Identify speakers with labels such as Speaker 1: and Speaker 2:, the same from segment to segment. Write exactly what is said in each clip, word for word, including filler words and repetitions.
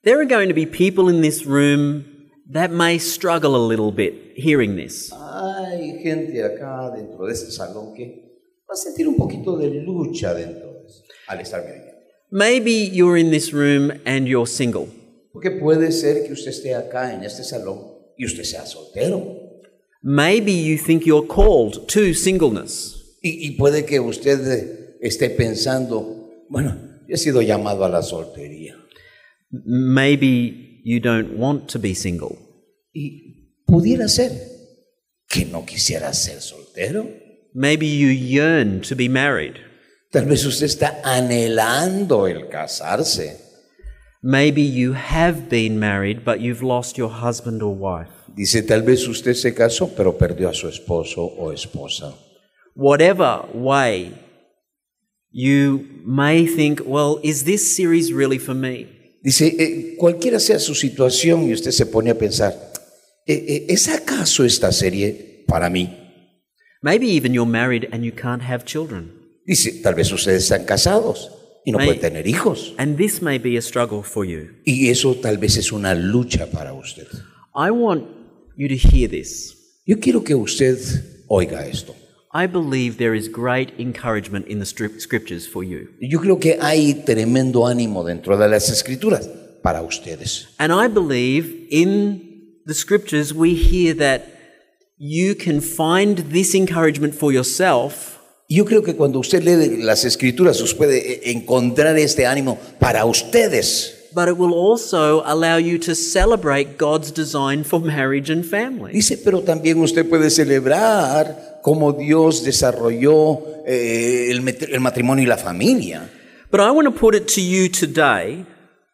Speaker 1: There are going to be people in this room that may struggle a little bit hearing this.
Speaker 2: Hay gente acá dentro de este salón que va a sentir un poquito de lucha dentro de eso, al estar viendo.
Speaker 1: Maybe you're in this room and you're single.
Speaker 2: Porque puede ser que usted esté acá en este salón y usted sea soltero.
Speaker 1: Maybe you think you're called to singleness.
Speaker 2: Y, y puede que usted esté pensando, bueno, yo he sido llamado a la soltería.
Speaker 1: Maybe you don't want to be single.
Speaker 2: Y pudiera ser que no quisiera ser soltero.
Speaker 1: Maybe you yearn to be married.
Speaker 2: Tal vez usted está anhelando el casarse.
Speaker 1: Maybe you have been married, but you've lost your husband or wife.
Speaker 2: Dice, tal vez usted se casó, pero perdió a su esposo o esposa.
Speaker 1: Whatever way, you may think, well, is this series really for me?
Speaker 2: Dice, eh, cualquiera sea su situación y usted se pone a pensar, eh, eh, ¿es acaso esta serie para mí?
Speaker 1: Maybe even you're married and you can't have children.
Speaker 2: Dice, tal vez ustedes están casados y no
Speaker 1: May-
Speaker 2: pueden tener hijos.
Speaker 1: And this may be a struggle for you.
Speaker 2: Y eso tal vez es una lucha para usted.
Speaker 1: I want you to hear this.
Speaker 2: Yo quiero que usted oiga esto.
Speaker 1: I believe there is great encouragement in the strip- scriptures for you.
Speaker 2: Yo creo que hay tremendo ánimo dentro de las escrituras para ustedes.
Speaker 1: And I believe in the scriptures we hear that you can find this encouragement for yourself.
Speaker 2: Yo creo que cuando usted lee las escrituras, usted puede encontrar este ánimo para ustedes.
Speaker 1: But it will also allow you to celebrate God's design for marriage and family.
Speaker 2: Dice, pero también usted puede celebrar cómo Dios desarrolló eh, el, el matrimonio y la familia.
Speaker 1: But I want to put it to you today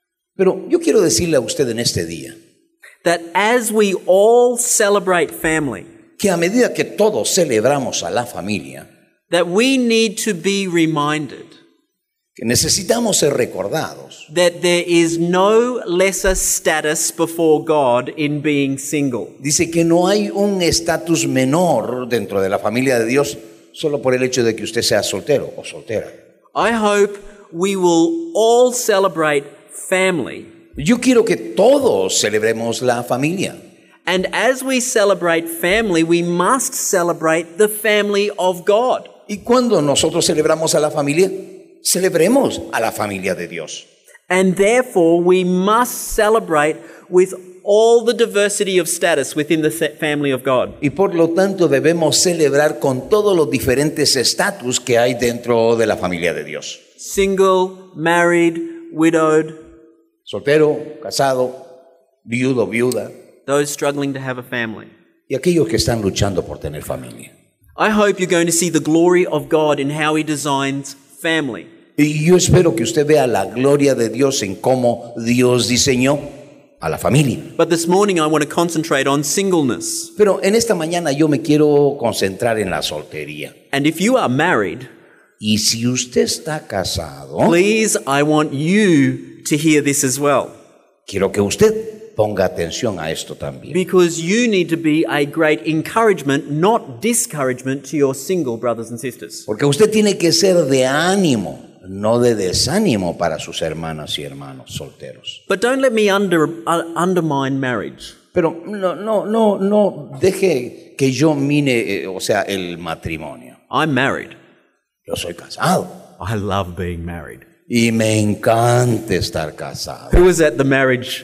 Speaker 2: Pero yo quiero decirle a usted en este día
Speaker 1: that as we all celebrate family,
Speaker 2: que a medida que todos celebramos a la familia,
Speaker 1: that we need to be reminded
Speaker 2: que necesitamos ser recordados
Speaker 1: that there is no lesser status before God in being single.
Speaker 2: Dice que no hay un estatus menor dentro de la familia de Dios solo por el hecho de que usted sea soltero o soltera.
Speaker 1: I hope we will all celebrate family.
Speaker 2: Yo quiero que todos celebremos la familia.
Speaker 1: And as we celebrate family, we must celebrate the family of God.
Speaker 2: Y cuando nosotros celebramos a la familia, celebremos a la familia de Dios.
Speaker 1: And therefore, we must celebrate with all the diversity of status within the family of God.
Speaker 2: Y por lo tanto debemos celebrar con todos los diferentes estatus que hay dentro de la familia de Dios.
Speaker 1: Single, married, widowed,
Speaker 2: Soltero, casado, viudo, viuda,
Speaker 1: those struggling to have a family.
Speaker 2: y aquellos que están luchando por tener familia.
Speaker 1: I hope you're going to see the glory of God in how He designs family.
Speaker 2: Y yo espero que usted vea la gloria de Dios en cómo Dios diseñó a la familia.
Speaker 1: But this morning I want to concentrate on singleness.
Speaker 2: Pero en esta mañana yo me quiero concentrar en la soltería.
Speaker 1: And if you are married,
Speaker 2: Y si usted está casado,
Speaker 1: please, I want you to hear this as well.
Speaker 2: quiero que usted ponga atención a esto también.
Speaker 1: Because you need to be a great encouragement, not discouragement, to your single brothers and sisters.
Speaker 2: Porque usted tiene que ser de ánimo, no de desánimo para sus hermanas y hermanos solteros.
Speaker 1: But don't let me under, uh, undermine marriage.
Speaker 2: Pero no, no, no, no deje que yo mine, eh, o sea, el matrimonio.
Speaker 1: I'm married.
Speaker 2: Yo soy casado
Speaker 1: I love being married.
Speaker 2: y me encanta estar casado.
Speaker 1: Who was at the marriage?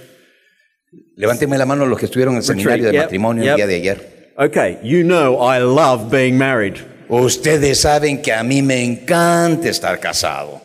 Speaker 2: Levánteme la mano los que estuvieron en el seminario de
Speaker 1: Yep,
Speaker 2: matrimonio
Speaker 1: yep.
Speaker 2: el día de ayer.
Speaker 1: Okay, you know I love being married.
Speaker 2: Ustedes saben que a mí me encanta estar casado.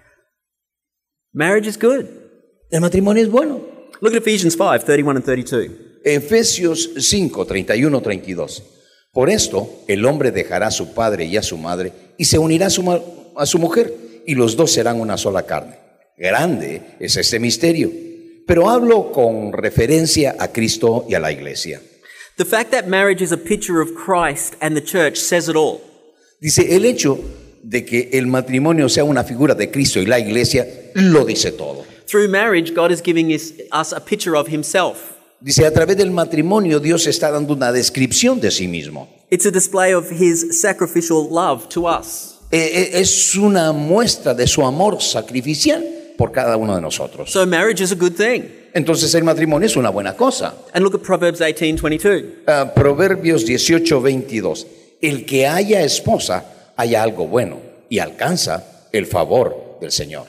Speaker 1: Marriage is good.
Speaker 2: El matrimonio es bueno.
Speaker 1: Look at Ephesians five, thirty-one and thirty-two.
Speaker 2: Efesios cinco, treinta y uno, treinta y dos. Por esto, el hombre dejará a su padre y a su madre y se unirá a su, ma- a su mujer y los dos serán una sola carne. Grande es este misterio, pero hablo con referencia a Cristo y a la iglesia.
Speaker 1: The fact that marriage is a picture of Christ and the church says it all.
Speaker 2: Dice, el hecho de que el matrimonio sea una figura de Cristo y la iglesia lo dice todo.
Speaker 1: Through marriage, God is giving us, us a picture of Himself.
Speaker 2: Dice, a través del matrimonio Dios está dando una descripción de sí mismo.
Speaker 1: It's a display of His sacrificial love to us.
Speaker 2: Eh, eh, es una muestra de su amor sacrificial por cada uno de nosotros.
Speaker 1: So marriage is a good thing.
Speaker 2: entonces el matrimonio es una buena cosa.
Speaker 1: And look at Proverbs eighteen twenty-two.
Speaker 2: Uh, Proverbios dieciocho veintidós. El que haya esposa, haya algo bueno y alcanza el favor del Señor.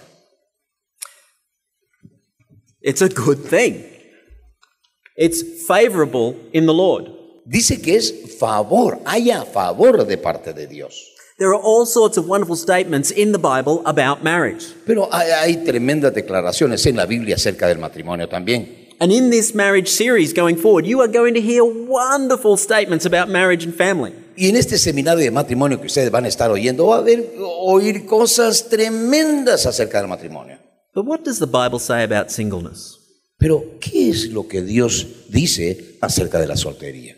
Speaker 1: It's a good thing. It's favorable in the Lord.
Speaker 2: Dice que es favor, haya favor de parte de Dios.
Speaker 1: There are all sorts of wonderful statements in the Bible about marriage.
Speaker 2: Pero hay, hay tremendas declaraciones en la Biblia acerca del matrimonio también.
Speaker 1: And in this marriage series going forward, you are going to hear wonderful statements about marriage and family.
Speaker 2: Y en este seminario de matrimonio que ustedes van a estar oyendo, va a haber, oír cosas tremendas acerca del matrimonio.
Speaker 1: But what does the Bible say about singleness?
Speaker 2: Pero, ¿qué es lo que Dios dice acerca de la soltería?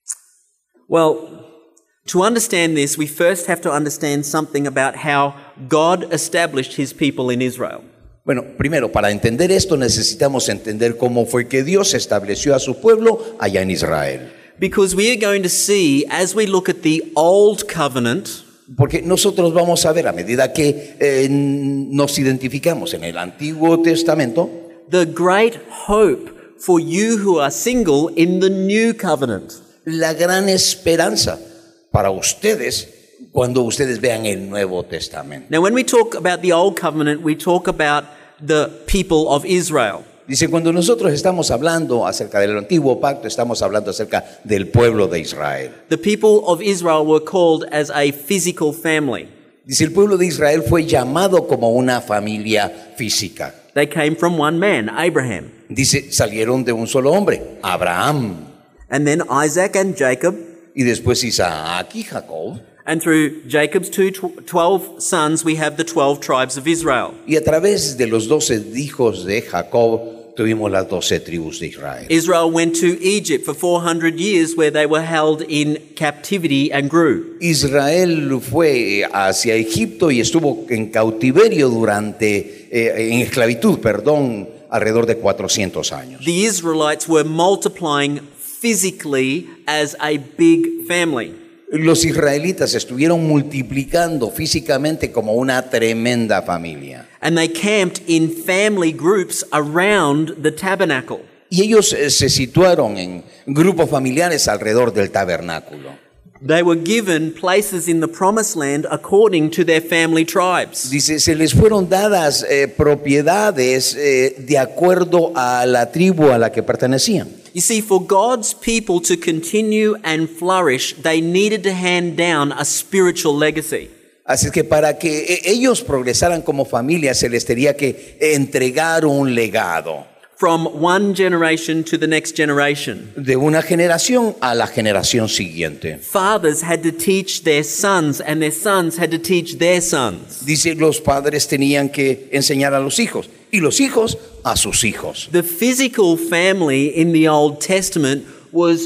Speaker 1: Well, to understand this, we first have to understand something about how God established his people in Israel.
Speaker 2: Bueno, primero, para entender esto necesitamos entender cómo fue que Dios estableció a su pueblo allá en Israel.
Speaker 1: Because we are going to see, as we look at the Old Covenant,
Speaker 2: Porque nosotros vamos a ver, a medida que eh, nos identificamos en el Antiguo Testamento,
Speaker 1: the great hope for you who are single in the New Covenant.
Speaker 2: la gran esperanza para ustedes cuando ustedes vean el Nuevo Testamento.
Speaker 1: Now, when we talk about the Old Covenant, we talk about the people of Israel.
Speaker 2: Dice, cuando nosotros estamos hablando acerca del Antiguo Pacto, estamos hablando acerca del pueblo de Israel.
Speaker 1: The people of Israel were called as a physical family.
Speaker 2: Dice, el pueblo de Israel fue llamado como una familia física.
Speaker 1: They came from one man, Abraham,
Speaker 2: Dice, salieron de un solo hombre, Abraham,
Speaker 1: and then Isaac and Jacob,
Speaker 2: y después Isaac y Jacob.
Speaker 1: and through Jacob's two tw- twelve sons, we have the twelve tribes of Israel.
Speaker 2: Y a través de los doce hijos de Jacob tuvimos las doce tribus de Israel.
Speaker 1: Israel went to Egypt for four hundred years where they were held in captivity and grew.
Speaker 2: Israel fue hacia Egipto y estuvo en cautiverio durante, eh, en esclavitud, perdón, alrededor de cuatrocientos años.
Speaker 1: The Israelites were multiplying physically as a big family.
Speaker 2: Los israelitas estuvieron multiplicando físicamente como una tremenda familia.
Speaker 1: And they camped in family groups around the tabernacle.
Speaker 2: Y ellos eh, se situaron en grupos familiares alrededor del tabernáculo.
Speaker 1: They were given places in the promised land according to their family tribes.
Speaker 2: Dice, se les fueron dadas eh, propiedades eh, de acuerdo a la tribu a la que pertenecían.
Speaker 1: You see, for God's people to continue and flourish, they needed to hand down a spiritual legacy.
Speaker 2: Así es que para que eh, ellos progresaran como familia se les tenía que entregar un legado
Speaker 1: From one generation to the next generation.
Speaker 2: de una generación a la generación siguiente.
Speaker 1: Fathers had to teach their sons, and their sons had to teach their sons.
Speaker 2: Dice, los padres tenían que enseñar a los hijos y los hijos a sus hijos.
Speaker 1: The physical family in the Old Testament was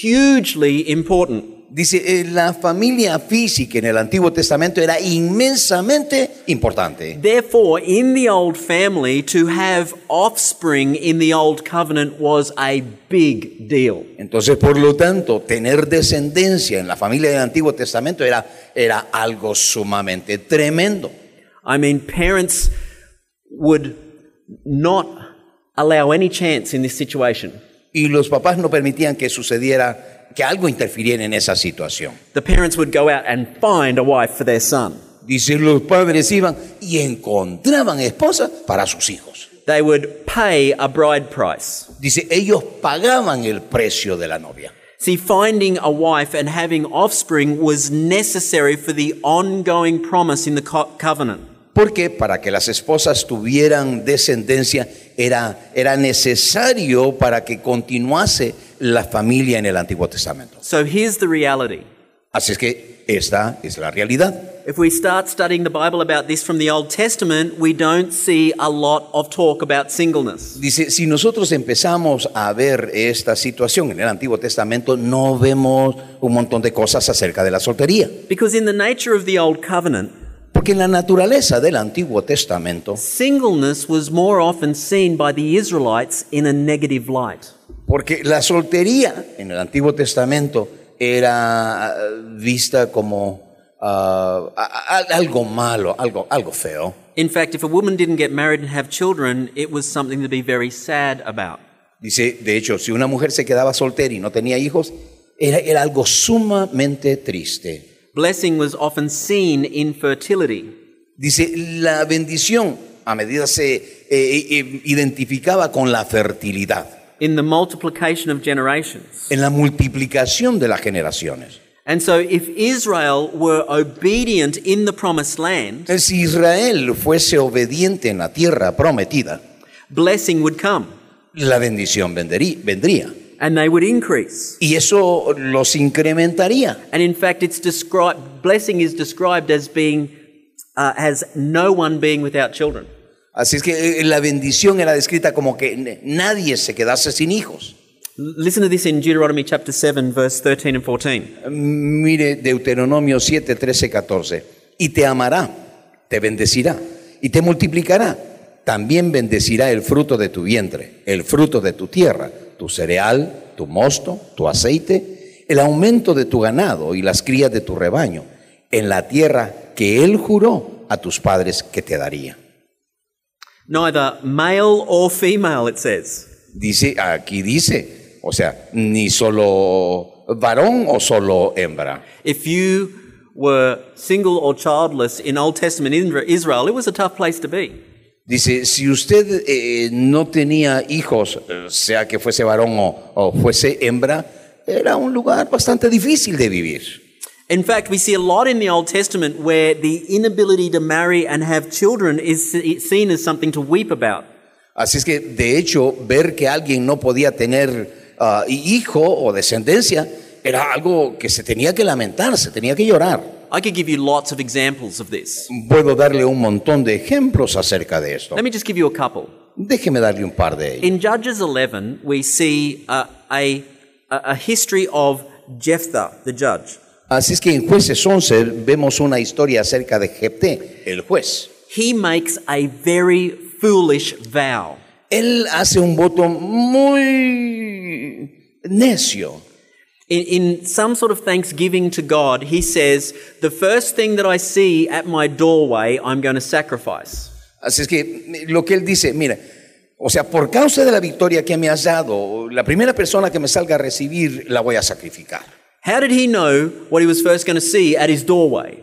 Speaker 1: hugely important.
Speaker 2: Dice, eh, la familia física en el Antiguo Testamento era inmensamente importante.
Speaker 1: Therefore, in the old family, to have offspring in the Old Covenant was a big deal.
Speaker 2: Entonces, por lo tanto, tener descendencia en la familia del Antiguo Testamento era, era algo sumamente tremendo.
Speaker 1: I mean, parents would not allow any chance in this situation.
Speaker 2: Y los papás no permitían que sucediera, que algo interfiriera en esa situación.
Speaker 1: The parents would go out and find a wife for their son.
Speaker 2: Dice, los padres iban y encontraban esposa para sus hijos.
Speaker 1: They would pay a bride price.
Speaker 2: Dice, ellos pagaban el precio de la novia.
Speaker 1: See, finding a wife and having offspring was necessary for the ongoing promise in the co- covenant.
Speaker 2: Porque para que las esposas tuvieran descendencia era, era necesario para que continuase la familia en el Antiguo Testamento.
Speaker 1: So here's the reality.
Speaker 2: Así es que esta es la realidad.
Speaker 1: If we start studying the Bible about this from the Old Testament, we don't see a lot of talk about singleness.
Speaker 2: Dice, si nosotros empezamos a ver esta situación en el Antiguo Testamento, no vemos un montón de cosas acerca de la soltería.
Speaker 1: Because in the nature of the Old Covenant,
Speaker 2: Porque en la naturaleza del Antiguo Testamento,
Speaker 1: singleness was more often seen by the Israelites in a negative light.
Speaker 2: porque la soltería en el Antiguo Testamento era vista como uh, a- a- algo malo, algo, algo feo.
Speaker 1: In fact, if a woman didn't get married and have children, it was something to be very sad about.
Speaker 2: Dice, de hecho, si una mujer se quedaba soltera y no tenía hijos, era, era algo sumamente triste.
Speaker 1: Blessing was often seen in fertility.
Speaker 2: Dice, la bendición a medida se eh, eh, identificaba con la fertilidad,
Speaker 1: In the multiplication of generations.
Speaker 2: en la multiplicación de las generaciones.
Speaker 1: And so if Israel were obedient in the promised land,
Speaker 2: Si Israel fuese obediente en la tierra prometida,
Speaker 1: blessing would come
Speaker 2: la bendición vendrí- vendría.
Speaker 1: and they would increase.
Speaker 2: Y eso los incrementaría.
Speaker 1: And in fact, it's described, blessing is described as being, uh, as no one being without children.
Speaker 2: Así es que eh, la bendición era descrita como que n- nadie se quedase sin hijos.
Speaker 1: L- Listen to this in Deuteronomy chapter seven, verse thirteen and fourteen.
Speaker 2: Mire Deuteronomio siete, trece, catorce. Y te amará, te bendecirá y te multiplicará. También bendecirá el fruto de tu vientre, el fruto de tu tierra, tu cereal, tu mosto, tu aceite, el aumento de tu ganado y las crías de tu rebaño, en la tierra que él juró a tus padres que te daría.
Speaker 1: Neither male or female, it says.
Speaker 2: Dice, aquí dice, o sea, ni solo varón o solo hembra.
Speaker 1: If you were single or childless in Old Testament Indra- Israel, it was a tough place to be.
Speaker 2: Dice, si usted eh, no tenía hijos, eh, sea que fuese varón o, o fuese hembra, era un lugar bastante difícil de vivir.
Speaker 1: In fact, we see a lot in the Old Testament where the inability to marry and have children is se- seen as something to weep about.
Speaker 2: Así es que, de hecho, ver que alguien no podía tener uh, hijo o descendencia era algo que se tenía que lamentar, se tenía que llorar.
Speaker 1: I could give you lots of examples of this.
Speaker 2: Puedo darle un montón de ejemplos acerca de esto.
Speaker 1: Let me just give you a couple.
Speaker 2: Déjeme darle un par de ellos.
Speaker 1: In Judges eleven, we see uh, a, a, a history of Jephthah, the judge.
Speaker 2: Así es que en Jueces once vemos una historia acerca de Jefté, el juez.
Speaker 1: He makes a very foolish vow.
Speaker 2: Él hace un voto muy necio.
Speaker 1: In, in some sort of thanksgiving to God, he says, the first thing that I see at my doorway, I'm going to sacrifice.
Speaker 2: Así es que lo que él dice, mira, o sea, por causa de la victoria que me has dado, la primera persona que me salga a recibir la voy a sacrificar.
Speaker 1: How did he know what he was first going to see at his doorway?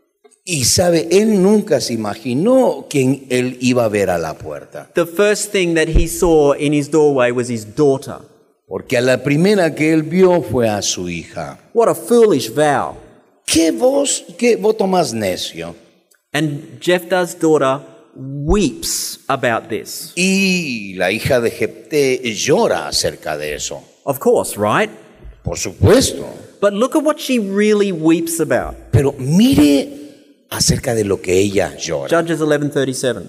Speaker 2: Y sabe, él nunca se imaginó quién él iba a ver a la puerta.
Speaker 1: The first thing that he saw in his doorway was his daughter.
Speaker 2: Porque a la primera que él vio fue a su hija.
Speaker 1: What a foolish vow.
Speaker 2: ¿Qué voz, qué voto más necio?
Speaker 1: And Jephthah's daughter weeps about this.
Speaker 2: Y la hija de Jefté llora acerca de eso.
Speaker 1: Of course, right?
Speaker 2: Por supuesto.
Speaker 1: But look at what she really weeps about.
Speaker 2: Pero mire acerca de lo que ella llora.
Speaker 1: Judges eleven thirty-seven.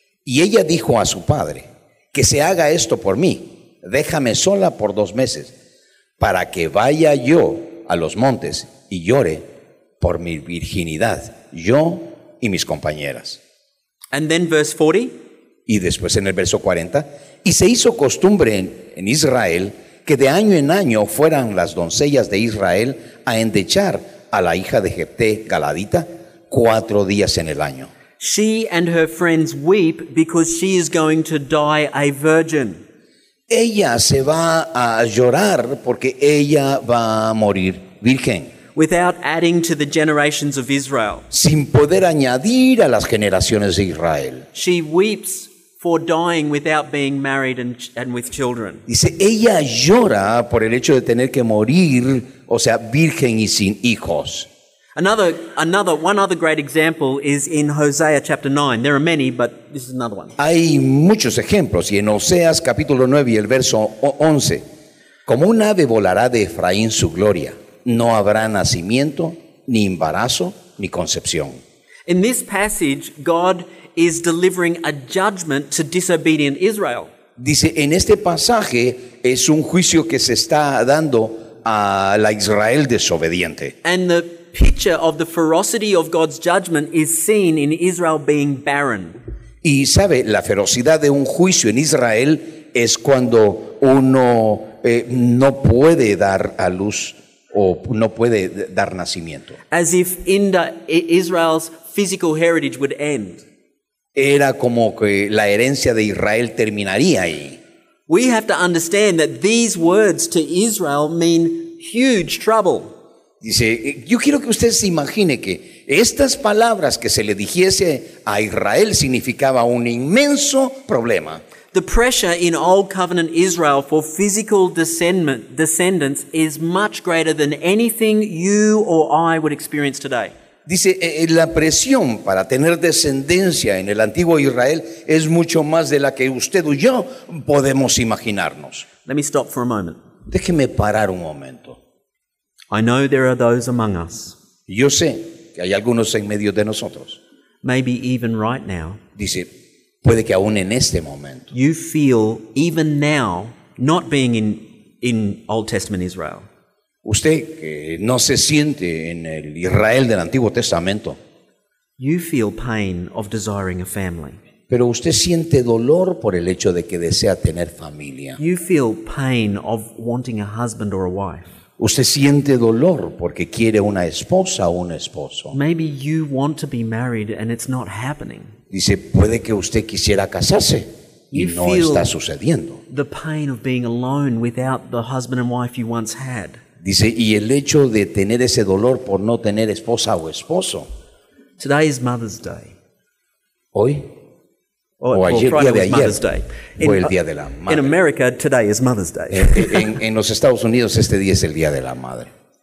Speaker 2: Y ella dijo a su padre, que se haga esto por mí, déjame sola por dos meses, para que vaya yo a los montes y llore por mi virginidad, yo y mis compañeras.
Speaker 1: And then verse forty.
Speaker 2: Y después en el verso cuarenta, y se hizo costumbre en, en Israel que de año en año fueran las doncellas de Israel a endechar a la hija de Jefté Galadita cuatro días en el año.
Speaker 1: She and her friends weep because she is going to die a virgin.
Speaker 2: Ella se va a llorar porque ella va a morir virgen,
Speaker 1: Without adding to the generations of Israel.
Speaker 2: sin poder añadir a las generaciones de Israel.
Speaker 1: She weeps for dying without being married and, and with children.
Speaker 2: Dice, ella llora por el hecho de tener que morir, o sea, virgen y sin hijos.
Speaker 1: Another, another, one other great example is in Hosea chapter nine. There are many, but this is another one.
Speaker 2: Hay muchos ejemplos, y en Oseas capítulo nueve y el verso once, como un ave volará de Efraín su gloria, no habrá nacimiento, ni embarazo, ni concepción.
Speaker 1: In this passage, God is delivering a judgment to disobedient Israel.
Speaker 2: Dice, en este pasaje es un juicio que se está dando a la Israel desobediente.
Speaker 1: And the picture of the ferocity of God's judgment is seen in Israel being barren.
Speaker 2: Y sabe, la ferocidad de un juicio en Israel es cuando uno eh, no puede dar a luz o no puede dar nacimiento.
Speaker 1: As if Inda, Israel's physical heritage would end.
Speaker 2: era como que la herencia de Israel terminaría ahí.
Speaker 1: We have to understand that these words to Israel mean huge trouble.
Speaker 2: Dice, yo quiero que usted se imagine que estas palabras que se le dijese a Israel significaba un inmenso problema.
Speaker 1: The pressure in Old Covenant Israel for physical descendant, descendants is much greater than anything you or I would experience today.
Speaker 2: Dice, eh, la presión para tener descendencia en el antiguo Israel es mucho más de la que usted y yo podemos imaginarnos.
Speaker 1: Let me stop for a moment.
Speaker 2: Déjeme parar un momento.
Speaker 1: I know there are those among us,
Speaker 2: Yo sé que hay algunos en medio de nosotros.
Speaker 1: maybe even right now,
Speaker 2: Dice, puede que aún en este momento
Speaker 1: you feel even now not being in, in Old Testament Israel.
Speaker 2: usted que no se siente en el Israel del Antiguo Testamento,
Speaker 1: You feel pain of desiring a family.
Speaker 2: pero usted siente dolor por el hecho de que desea tener familia.
Speaker 1: You feel pain of wanting a husband or a wife.
Speaker 2: Usted siente dolor porque quiere una esposa o un esposo.
Speaker 1: Maybe you want to be married and it's not happening.
Speaker 2: Dice, puede que usted quisiera casarse y
Speaker 1: You
Speaker 2: no
Speaker 1: feel-
Speaker 2: está sucediendo.
Speaker 1: The pain of being alone without the husband and wife you once had.
Speaker 2: Dice, y el hecho de tener ese dolor por no tener esposa o esposo.
Speaker 1: Today is Mother's Day.
Speaker 2: Hoy,
Speaker 1: Or,
Speaker 2: O
Speaker 1: well,
Speaker 2: ayer,
Speaker 1: Friday
Speaker 2: día de
Speaker 1: was
Speaker 2: ayer,
Speaker 1: Mother's Day.
Speaker 2: fue el día de la
Speaker 1: in
Speaker 2: madre.
Speaker 1: America, today is Mother's Day.
Speaker 2: en, en los Estados Unidos este día es el Día de la Madre.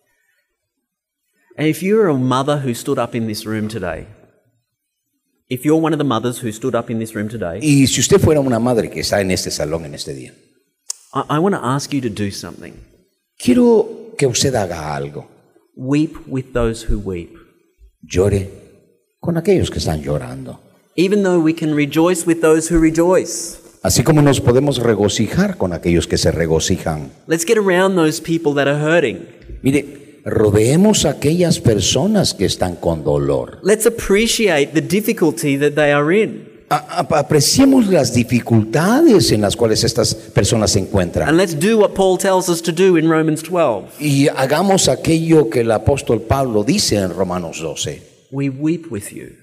Speaker 1: And if you're a mother who stood up in this room today, if you're one of the mothers who stood up in this room today,
Speaker 2: Y si usted fuera una madre que está en este salón en este día,
Speaker 1: I, I want to ask you to do something.
Speaker 2: quiero que usted haga algo.
Speaker 1: Weep with those who weep.
Speaker 2: Llore con aquellos que están llorando.
Speaker 1: Even though we can rejoice with those who rejoice.
Speaker 2: Así como nos podemos regocijar con aquellos que se regocijan.
Speaker 1: Let's get around those people that are hurting.
Speaker 2: Mire, rodeemos a aquellas personas que están con dolor.
Speaker 1: Let's appreciate the difficulty that they are in.
Speaker 2: A- a- apreciemos las dificultades en las cuales estas personas se
Speaker 1: And
Speaker 2: encuentran.
Speaker 1: let's do what Paul tells us to do in Romans twelve.
Speaker 2: Y hagamos aquello que el apóstol Pablo dice en Romanos doce.
Speaker 1: We weep with you.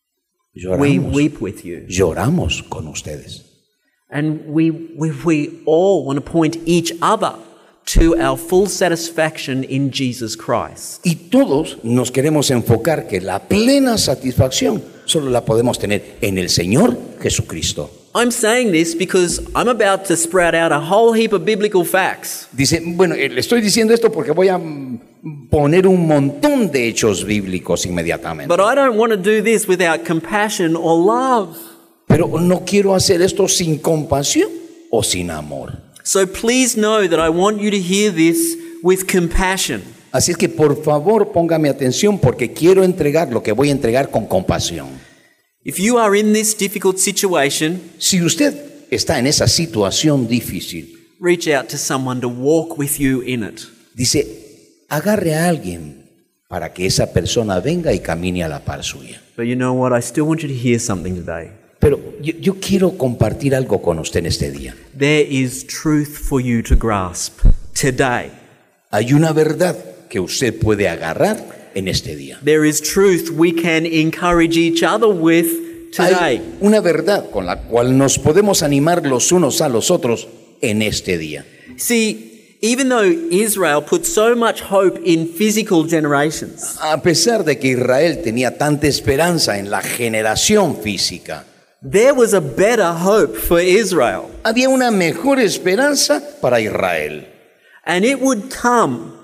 Speaker 1: We
Speaker 2: Lloramos,
Speaker 1: weep with you.
Speaker 2: lloramos con ustedes.
Speaker 1: And we, we, we all want to point each other to our full satisfaction in Jesus Christ.
Speaker 2: Y todos nos queremos enfocar que la plena satisfacción solo la podemos tener en el Señor Jesucristo.
Speaker 1: I'm saying this because I'm about to sprout out a whole heap of biblical facts.
Speaker 2: Dice, bueno, eh, le estoy diciendo esto porque voy a mm, poner un montón de hechos bíblicos inmediatamente.
Speaker 1: But I don't want to do this without compassion or love.
Speaker 2: Pero no quiero hacer esto sin compasión o sin amor.
Speaker 1: So please know that I want you to hear this with compassion.
Speaker 2: Así es que por favor póngame atención porque quiero entregar lo que voy a entregar con compasión.
Speaker 1: If you are in this difficult situation,
Speaker 2: Si usted está en esa situación difícil,
Speaker 1: reach out to someone to walk with you in it.
Speaker 2: dice, agarre a alguien para que esa persona venga y camine a la par suya.
Speaker 1: But you know what? I still want you to hear something today.
Speaker 2: Pero yo, yo quiero compartir algo con usted en este día.
Speaker 1: There is truth for you to grasp today.
Speaker 2: Hay una verdad que usted puede agarrar en este día.
Speaker 1: There is truth we can encourage each other with today.
Speaker 2: Hay una verdad con la cual nos podemos animar los unos a los otros en este día.
Speaker 1: See, even though Israel put so much hope in physical generations,
Speaker 2: A pesar de que Israel tenía tanta esperanza en la generación física,
Speaker 1: there was a better hope for Israel.
Speaker 2: había una mejor esperanza para Israel.
Speaker 1: And it would come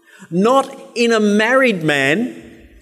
Speaker 1: not in a married man,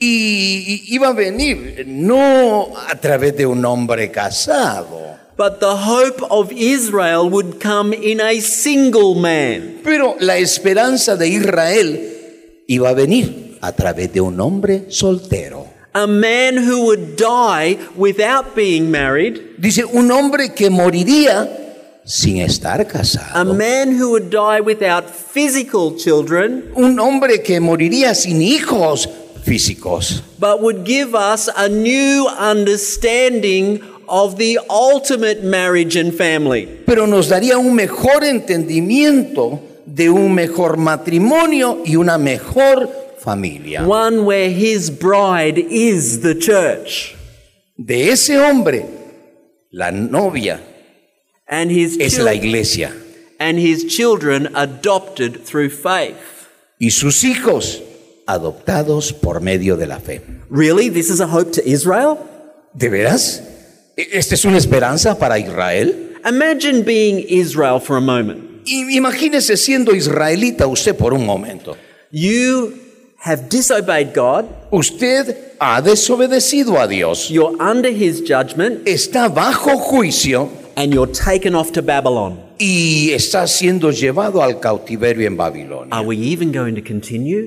Speaker 2: Y, y iba a venir no a través de un hombre casado,
Speaker 1: but the hope of Israel would come in a single man.
Speaker 2: pero la esperanza de Israel iba a venir a través de un hombre soltero.
Speaker 1: A man who would die without being married.
Speaker 2: Dice, un hombre que moriría sin estar
Speaker 1: A
Speaker 2: casado.
Speaker 1: man who would die without physical children,
Speaker 2: Un hombre que moriría sin hijos físicos.
Speaker 1: but would give us a new understanding of the ultimate marriage and family.
Speaker 2: Pero nos daría un mejor entendimiento de un mejor matrimonio y una mejor familia.
Speaker 1: One where his bride is the church.
Speaker 2: De ese hombre La novia
Speaker 1: and his
Speaker 2: es
Speaker 1: chil-
Speaker 2: la iglesia.
Speaker 1: and his children adopted through faith.
Speaker 2: Y sus hijos adoptados por medio de la fe.
Speaker 1: Really? This is a hope to Israel?
Speaker 2: ¿De veras? ¿Esta es una esperanza para Israel?
Speaker 1: Imagine being Israel for a moment.
Speaker 2: I- Imagínese siendo israelita usted por un momento.
Speaker 1: You have disobeyed God.
Speaker 2: Usted ha desobedecido a Dios.
Speaker 1: You're under his judgment
Speaker 2: Está bajo juicio
Speaker 1: and you're taken off to Babylon.
Speaker 2: y está siendo llevado al cautiverio en Babilonia.
Speaker 1: Are we even going to continue?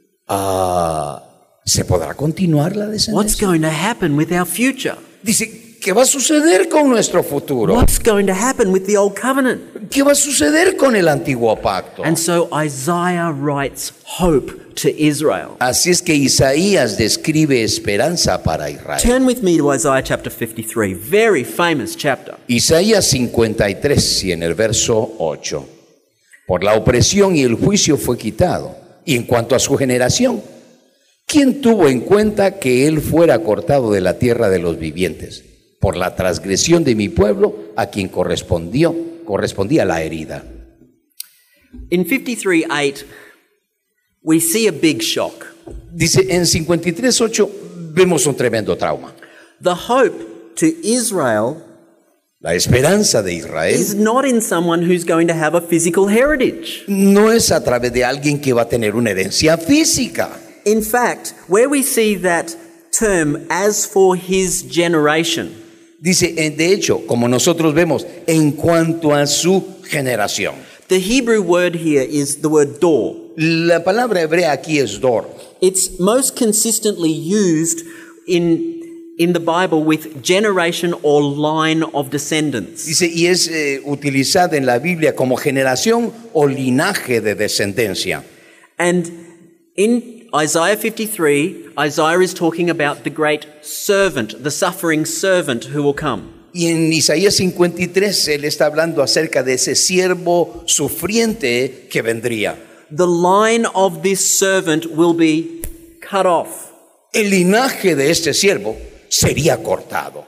Speaker 2: Ah, ¿se podrá continuar la
Speaker 1: What's
Speaker 2: descendencia?
Speaker 1: going to happen with our future?
Speaker 2: Dice, ¿qué va a suceder con nuestro futuro?
Speaker 1: What's going to happen with the old covenant?
Speaker 2: ¿Qué va a suceder con el antiguo pacto?
Speaker 1: And so Isaiah writes hope to Israel.
Speaker 2: Así es que Isaías describe esperanza para Israel.
Speaker 1: Turn with me to Isaiah chapter fifty-three, very famous chapter.
Speaker 2: Isaías cincuenta y tres y en el verso ocho. Por la opresión y el juicio fue quitado. Y en cuanto a su generación, ¿quién tuvo en cuenta que él fuera cortado de la tierra de los vivientes? Por la transgresión de mi pueblo, a quien correspondió, correspondía la herida.
Speaker 1: In fifty-three eight, we see a big shock.
Speaker 2: Dice, en cincuenta y tres ocho vemos un tremendo trauma.
Speaker 1: The hope to Israel
Speaker 2: La esperanza de Israel
Speaker 1: is not in someone who's going to have a physical heritage.
Speaker 2: no es a través de alguien que va a tener una herencia física.
Speaker 1: In fact, where we see that term, as for his generation,
Speaker 2: Dice, eh, de hecho, como nosotros vemos, en cuanto a su generación.
Speaker 1: the Hebrew word here is the word dor.
Speaker 2: La palabra hebrea aquí es dor.
Speaker 1: It's most consistently used in, in the Bible with generation or line of descendants.
Speaker 2: Dice, y es eh, utilizada en la Biblia como generación o linaje de descendencia.
Speaker 1: And in Isaiah fifty-three, Isaiah is talking about the great servant, the suffering servant who will come.
Speaker 2: Y en Isaías cincuenta y tres, él está hablando acerca de ese siervo sufriente que vendría.
Speaker 1: The line of this servant will be cut off.
Speaker 2: El linaje de este siervo sería cortado.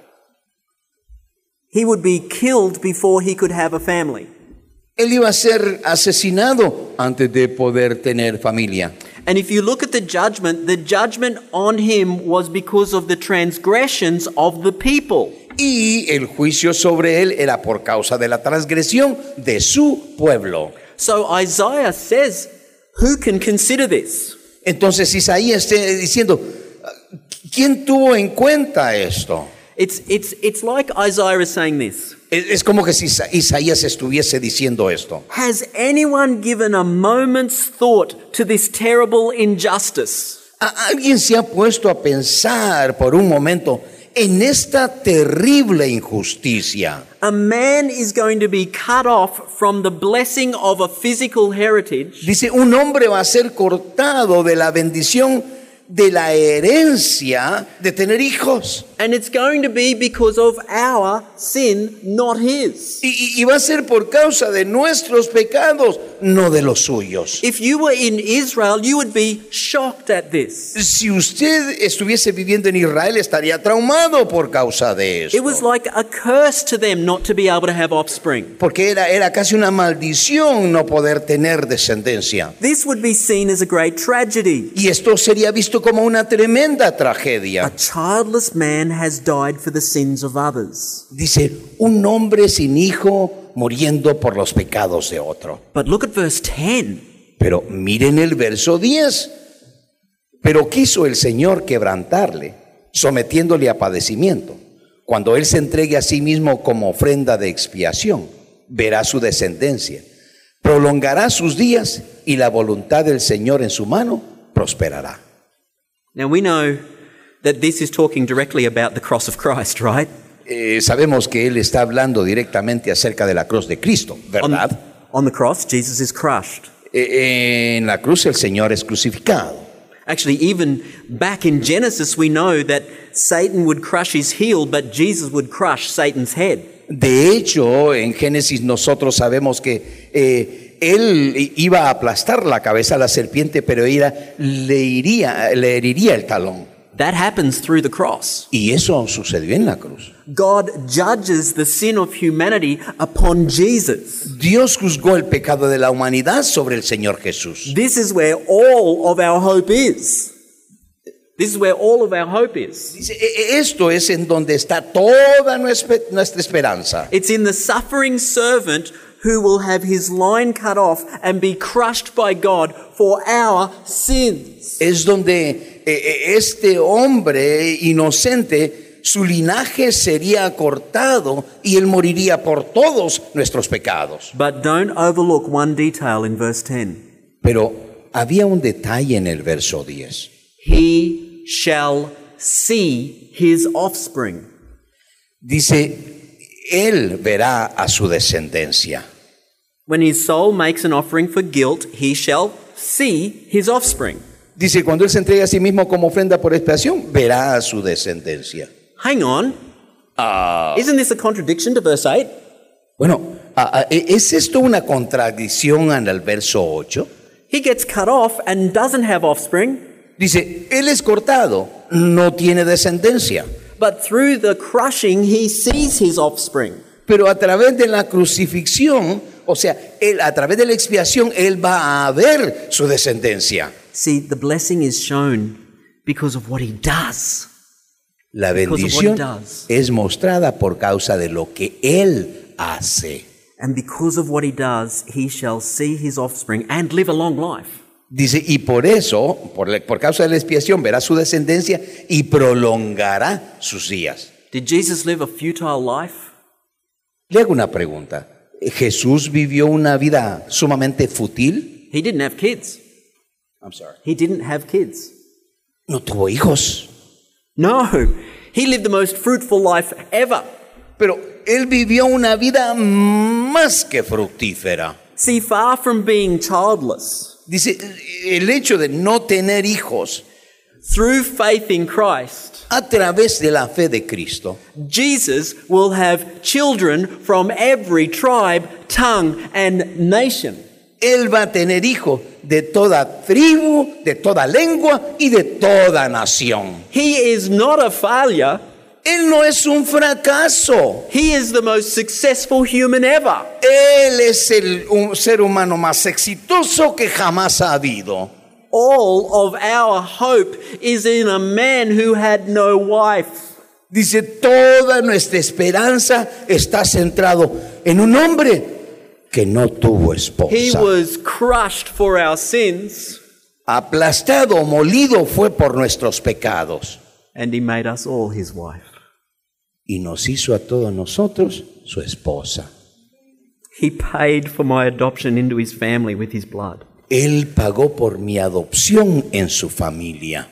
Speaker 1: He would be killed before he could have a family.
Speaker 2: Él iba a ser asesinado antes de poder tener familia.
Speaker 1: And if you look at the judgment, the judgment on him was because of the transgressions of the people.
Speaker 2: Y el juicio sobre él era por causa de la transgresión de su pueblo.
Speaker 1: So Isaiah says, who can consider this?
Speaker 2: Entonces Isaías está diciendo, ¿quién tuvo en cuenta esto?
Speaker 1: It's, it's, it's like Isaiah is saying this.
Speaker 2: Es, es como que si Isa- Isaías estuviese diciendo esto.
Speaker 1: Has anyone given a moment's thought to this terrible injustice?
Speaker 2: ¿A- ¿Alguien se ha puesto a pensar por un momento en esta terrible injusticia?
Speaker 1: A man is going to be cut off from the blessing of a physical heritage
Speaker 2: Dice, un hombre va a ser cortado de la bendición de la herencia de tener hijos.
Speaker 1: and it's going to be because of our sin, not his.
Speaker 2: Y, y- y va a ser por causa de nuestros pecados, no de los suyos.
Speaker 1: If you were in Israel, you would be shocked at this.
Speaker 2: Si usted estuviese viviendo en Israel, estaría traumado por causa de
Speaker 1: It was
Speaker 2: esto.
Speaker 1: like a curse to them not to be able to have offspring.
Speaker 2: Porque era, era casi una maldición no poder tener descendencia.
Speaker 1: This would be seen as a great tragedy.
Speaker 2: Y esto sería visto como una tremenda
Speaker 1: A
Speaker 2: tragedia.
Speaker 1: childless man has died for the sins of others.
Speaker 2: Dice, un hombre sin hijo muriendo por los pecados de otro.
Speaker 1: But look at verse ten.
Speaker 2: Pero miren el verso diez. Pero quiso el Señor quebrantarle, sometiéndole a padecimiento. Cuando Él se entregue a sí mismo como ofrenda de expiación, verá su descendencia, prolongará sus días y la voluntad del Señor en su mano prosperará.
Speaker 1: Now we know that this is talking directly about the cross of Christ, right?
Speaker 2: Eh, sabemos que Él está hablando directamente acerca de la cruz de Cristo,
Speaker 1: On,
Speaker 2: ¿verdad?
Speaker 1: on the cross, Jesus is crushed.
Speaker 2: Eh, en la cruz el Señor es crucificado.
Speaker 1: Actually, even back in Genesis, we know that Satan would crush his heel, but Jesus would crush Satan's head.
Speaker 2: De hecho, en Génesis nosotros sabemos que eh, él iba a aplastar la cabeza a la serpiente, pero ella le, iría, le heriría el talón.
Speaker 1: That happens through the cross.
Speaker 2: Y eso sucedió en la cruz.
Speaker 1: God judges the sin of humanity upon Jesus.
Speaker 2: Dios juzgó el pecado de la humanidad sobre el Señor Jesús.
Speaker 1: This is where all of our hope is. This is where all of our hope is.
Speaker 2: Dice, "E- esto es en donde está toda nuestra nuestra esperanza.
Speaker 1: It's in the suffering servant who will have his line cut off and be crushed by God for our sins.
Speaker 2: Es donde eh, eh, este hombre inocente, su linaje sería cortado y él moriría por todos nuestros pecados.
Speaker 1: But don't overlook one detail in verse ten.
Speaker 2: Pero había un detalle en el verso diez.
Speaker 1: He shall see his offspring.
Speaker 2: Dice, él verá a su descendencia.
Speaker 1: When his soul makes an offering for guilt, he shall see his offspring.
Speaker 2: Dice, cuando él se entrega a sí mismo como ofrenda por expiación, verá a su descendencia.
Speaker 1: Hang on. Isn't this a contradiction to verse eight?
Speaker 2: Bueno, ah, ah, ¿es esto una contradicción en el verso ocho?
Speaker 1: He gets cut off and doesn't have offspring,
Speaker 2: Dice, él es cortado, no tiene descendencia.
Speaker 1: but through the crushing he sees his offspring.
Speaker 2: Pero a través de la crucifixión, o sea, él, a través de la expiación, él va a ver su descendencia.
Speaker 1: See, the blessing is shown because of what he does.
Speaker 2: La
Speaker 1: Because of what he
Speaker 2: bendición
Speaker 1: does.
Speaker 2: es mostrada por causa de lo que él hace.
Speaker 1: And because of what he does, he shall see his offspring and live a long life.
Speaker 2: Dice, y por eso, por, la- por causa de la expiación, verá su descendencia y prolongará sus días.
Speaker 1: Did Jesus live a futile life?
Speaker 2: Le hago una pregunta. ¿Jesús vivió una vida sumamente fútil?
Speaker 1: He didn't have kids.
Speaker 2: I'm sorry.
Speaker 1: He didn't have kids.
Speaker 2: No tuvo hijos.
Speaker 1: No, he lived the most fruitful life ever.
Speaker 2: Pero él vivió una vida más que fructífera.
Speaker 1: See, far from being childless,
Speaker 2: Dice, el hecho de no tener hijos
Speaker 1: through faith in Christ,
Speaker 2: a través de la fe de Cristo,
Speaker 1: Jesus will have children from every tribe, tongue, and nation.
Speaker 2: él va a tener hijos de toda tribu, de toda lengua y de toda nación.
Speaker 1: He is not a failure.
Speaker 2: Él no es un fracaso.
Speaker 1: He is the most successful human ever.
Speaker 2: Él es el un ser humano más exitoso que jamás ha habido.
Speaker 1: All of our hope is in a man who had no wife.
Speaker 2: Dice, toda nuestra esperanza está centrado en un hombre que no tuvo
Speaker 1: He
Speaker 2: esposa.
Speaker 1: was crushed for our sins,
Speaker 2: Aplastado, molido fue por nuestros pecados.
Speaker 1: and he made us all his wife.
Speaker 2: Y nos hizo a todos nosotros su esposa.
Speaker 1: He paid for my adoption into his family with his blood.
Speaker 2: Él pagó por mi adopción en su familia.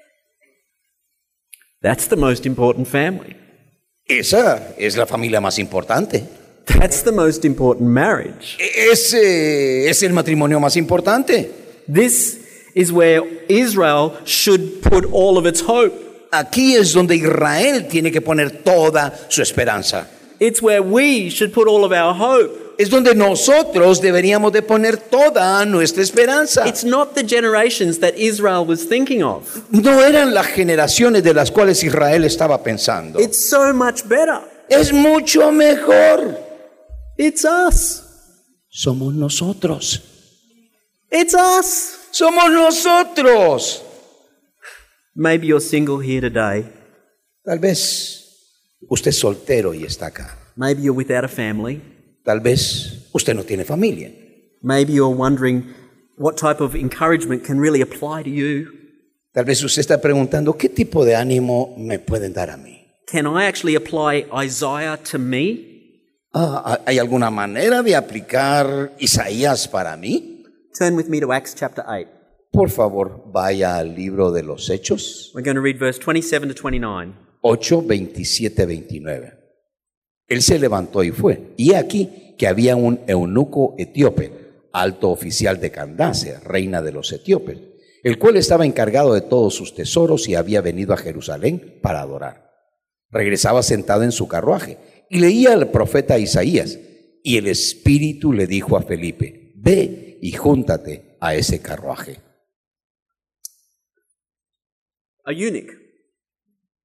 Speaker 1: That's the most important family.
Speaker 2: Esa es la familia más importante.
Speaker 1: That's the most important marriage.
Speaker 2: Ese es el matrimonio más importante.
Speaker 1: This is where Israel should put all of its hope.
Speaker 2: Aquí es donde Israel tiene que poner toda su esperanza.
Speaker 1: It's where we should put all of our hope.
Speaker 2: Es donde nosotros deberíamos de poner toda nuestra esperanza.
Speaker 1: It's not the generations that Israel was thinking of.
Speaker 2: No eran las generaciones de las cuales Israel estaba pensando.
Speaker 1: It's so much better.
Speaker 2: Es mucho mejor.
Speaker 1: It's us.
Speaker 2: Somos nosotros.
Speaker 1: It's us.
Speaker 2: Somos nosotros.
Speaker 1: Maybe you're single here today.
Speaker 2: Tal vez usted es soltero y está acá.
Speaker 1: Maybe you're without a family.
Speaker 2: Tal vez usted no tiene familia.
Speaker 1: Maybe you're wondering what type of encouragement can really apply to you.
Speaker 2: Tal vez usted está preguntando, ¿qué tipo de ánimo me pueden dar a mí?
Speaker 1: Can I actually apply Isaiah to me?
Speaker 2: Ah, ¿hay alguna manera de aplicar Isaías para mí?
Speaker 1: Turn with me to Acts chapter eight.
Speaker 2: Por favor, vaya al libro de los Hechos,
Speaker 1: We're going to read verse twenty-seven to twenty-nine.
Speaker 2: ocho, veintisiete, veintinueve. Él se levantó y fue. Y he aquí que había un eunuco etíope, alto oficial de Candace, reina de los etíopes, el cual estaba encargado de todos sus tesoros y había venido a Jerusalén para adorar. Regresaba sentado en su carruaje y leía al profeta Isaías. Y el Espíritu le dijo a Felipe, ve y júntate a ese carruaje.
Speaker 1: A eunuch.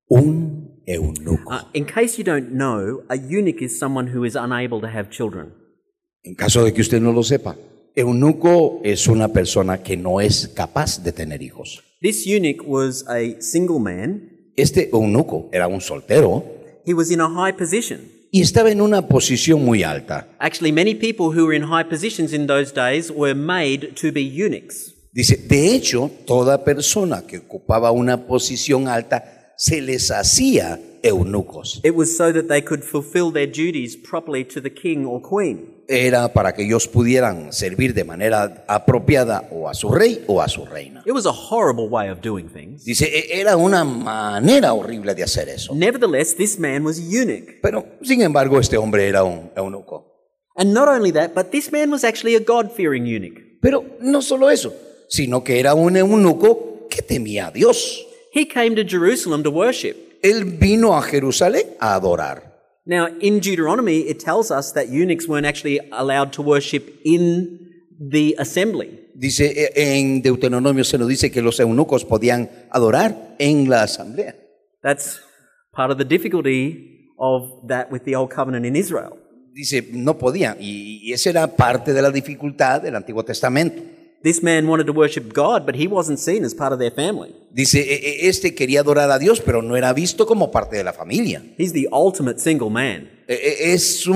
Speaker 2: Un eunuco.
Speaker 1: Uh, in case you don't know, a eunuch is someone who is unable to have children.
Speaker 2: En caso de que usted no lo sepa, eunuco es una persona que no es capaz de tener hijos.
Speaker 1: This eunuch was a single man.
Speaker 2: Este eunuco era un soltero
Speaker 1: He was in a high position.
Speaker 2: y estaba en una posición muy alta.
Speaker 1: Actually, many people who were in high positions in those days were made to be eunuchs.
Speaker 2: Dice, de hecho, toda persona que ocupaba una posición alta se les hacía eunucos.
Speaker 1: It was so that they could fulfill their duties properly to the king or queen.
Speaker 2: Era para que ellos pudieran servir de manera apropiada o a su rey o a su reina.
Speaker 1: It was a horrible way of doing things.
Speaker 2: Dice, e- era una manera horrible de hacer eso.
Speaker 1: Nevertheless, this man was a eunuch.
Speaker 2: Pero, sin embargo, este hombre era un eunuco.
Speaker 1: And not only that, but this man was actually a God-fearing eunuch.
Speaker 2: Pero no solo eso, sino que era un eunuco que temía a Dios.
Speaker 1: He came to Jerusalem to worship.
Speaker 2: Él vino a Jerusalén a adorar.
Speaker 1: Now, in Deuteronomy, it tells us that eunuchs weren't actually allowed to worship in the assembly.
Speaker 2: Dice, e- en Deuteronomio se nos dice que los eunucos podían adorar en la asamblea.
Speaker 1: That's part of the difficulty of that with the Old Covenant in Israel.
Speaker 2: Dice, no podían, y, y esa era parte de la dificultad del Antiguo Testamento.
Speaker 1: This man wanted to worship God, but he wasn't seen as part of their family.
Speaker 2: Dice, e- e- este quería adorar a Dios, pero no era visto como parte de la familia.
Speaker 1: He's the ultimate single man.
Speaker 2: E- e- Es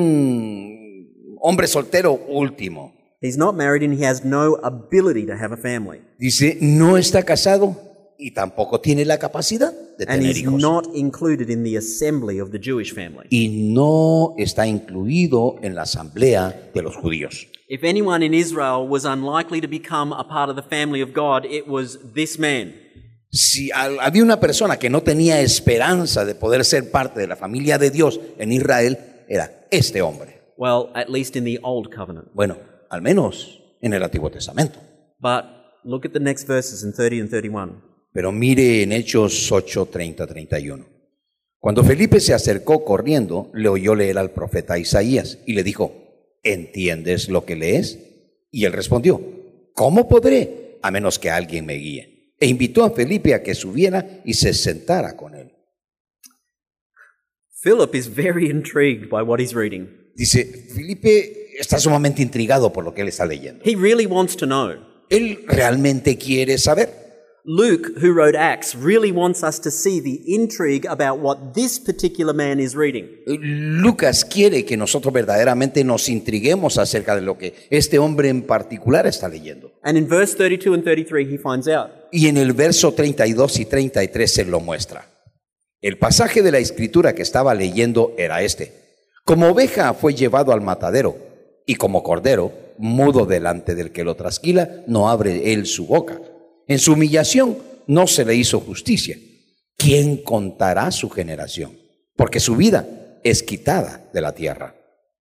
Speaker 2: un hombre soltero último.
Speaker 1: He's not married and he has no ability to have a family.
Speaker 2: Dice, no está casado y tampoco tiene la capacidad de
Speaker 1: And
Speaker 2: tener
Speaker 1: he's
Speaker 2: hijos.
Speaker 1: not included in the assembly of the Jewish family.
Speaker 2: Y no está incluido en la asamblea de los judíos.
Speaker 1: If anyone in Israel was unlikely to become a part of the family of God, it was this man.
Speaker 2: Si al- había una persona que no tenía esperanza de poder ser parte de la familia de Dios en Israel, era este hombre.
Speaker 1: Well, at least in the Old Covenant.
Speaker 2: Bueno, al menos en el Antiguo Testamento.
Speaker 1: But look at the next verses in thirty and thirty-one.
Speaker 2: Pero mire en Hechos ocho, treinta, treinta y uno. Cuando Felipe se acercó corriendo, le oyó leer al profeta Isaías y le dijo, ¿entiendes lo que lees? Y él respondió, ¿cómo podré? A menos que alguien me guíe. E invitó a Felipe a que subiera y se sentara con él.
Speaker 1: Philip is very intrigued by what he's reading.
Speaker 2: Dice, Felipe está sumamente intrigado por lo que él está leyendo.
Speaker 1: He really wants to know.
Speaker 2: Él realmente quiere saber.
Speaker 1: Luke, who wrote Acts, really wants us to see the intrigue about what this particular man is reading.
Speaker 2: Lucas quiere que nosotros verdaderamente nos intriguemos acerca de lo que este hombre en particular está leyendo.
Speaker 1: And in verse thirty-two and thirty-three, he finds out.
Speaker 2: Y en el verso treinta y dos y treinta y tres se lo muestra. El pasaje de la escritura que estaba leyendo era este. Como oveja fue llevado al matadero, y como cordero, mudo delante del que lo trasquila, no abre él su boca. En su humillación no se le hizo justicia. ¿Quién contará su generación? Porque su vida es quitada de la tierra.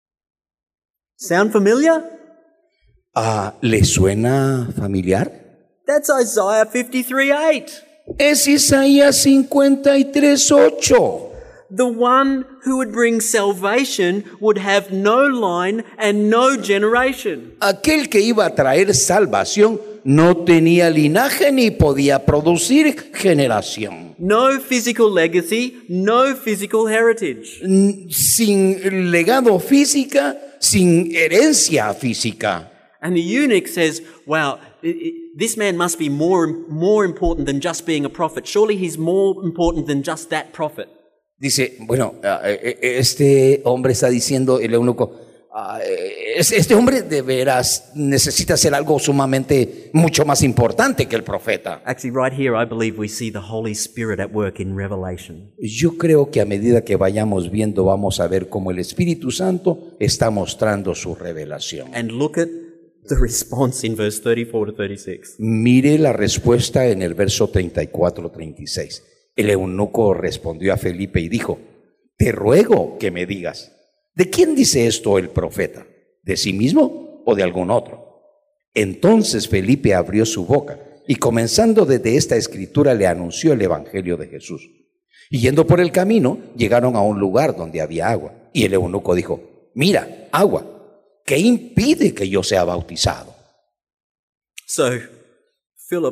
Speaker 1: Sound familiar?
Speaker 2: Ah, ¿le suena familiar?
Speaker 1: That's Isaiah fifty-three eight.
Speaker 2: Es Isaías cincuenta y tres, ocho.
Speaker 1: The one who would bring salvation would have no line and no generation.
Speaker 2: Aquel que iba a traer salvación no tenía linaje ni podía producir generación.
Speaker 1: No physical legacy, no physical heritage.
Speaker 2: Sin legado física, sin herencia física.
Speaker 1: And the eunuch says, wow, i- i- this man must be more, more important than just being a prophet. Surely he's more important than just that prophet.
Speaker 2: Dice, bueno, ah, eh, eh, este hombre está diciendo, el eunuco, ah, eh, es- este hombre de veras necesita ser algo sumamente mucho más importante que el profeta.
Speaker 1: Actually, right here, I believe we see the Holy Spirit at work in Revelation.
Speaker 2: Yo creo que a medida que vayamos viendo, vamos a ver cómo el Espíritu Santo está mostrando su revelación.
Speaker 1: And look at the response in verse thirty-four to thirty-six.
Speaker 2: Mire la respuesta en el verso treinta y cuatro, treinta y seis. El eunuco respondió a Felipe y dijo, te ruego que me digas, ¿de quién dice esto el profeta? ¿De sí mismo o de algún otro? Entonces Felipe abrió su boca y comenzando desde esta escritura le anunció el evangelio de Jesús. Y yendo por el camino, llegaron a un lugar donde había agua. Y el eunuco dijo, mira, agua, ¿qué impide que yo sea bautizado?
Speaker 1: So, Philip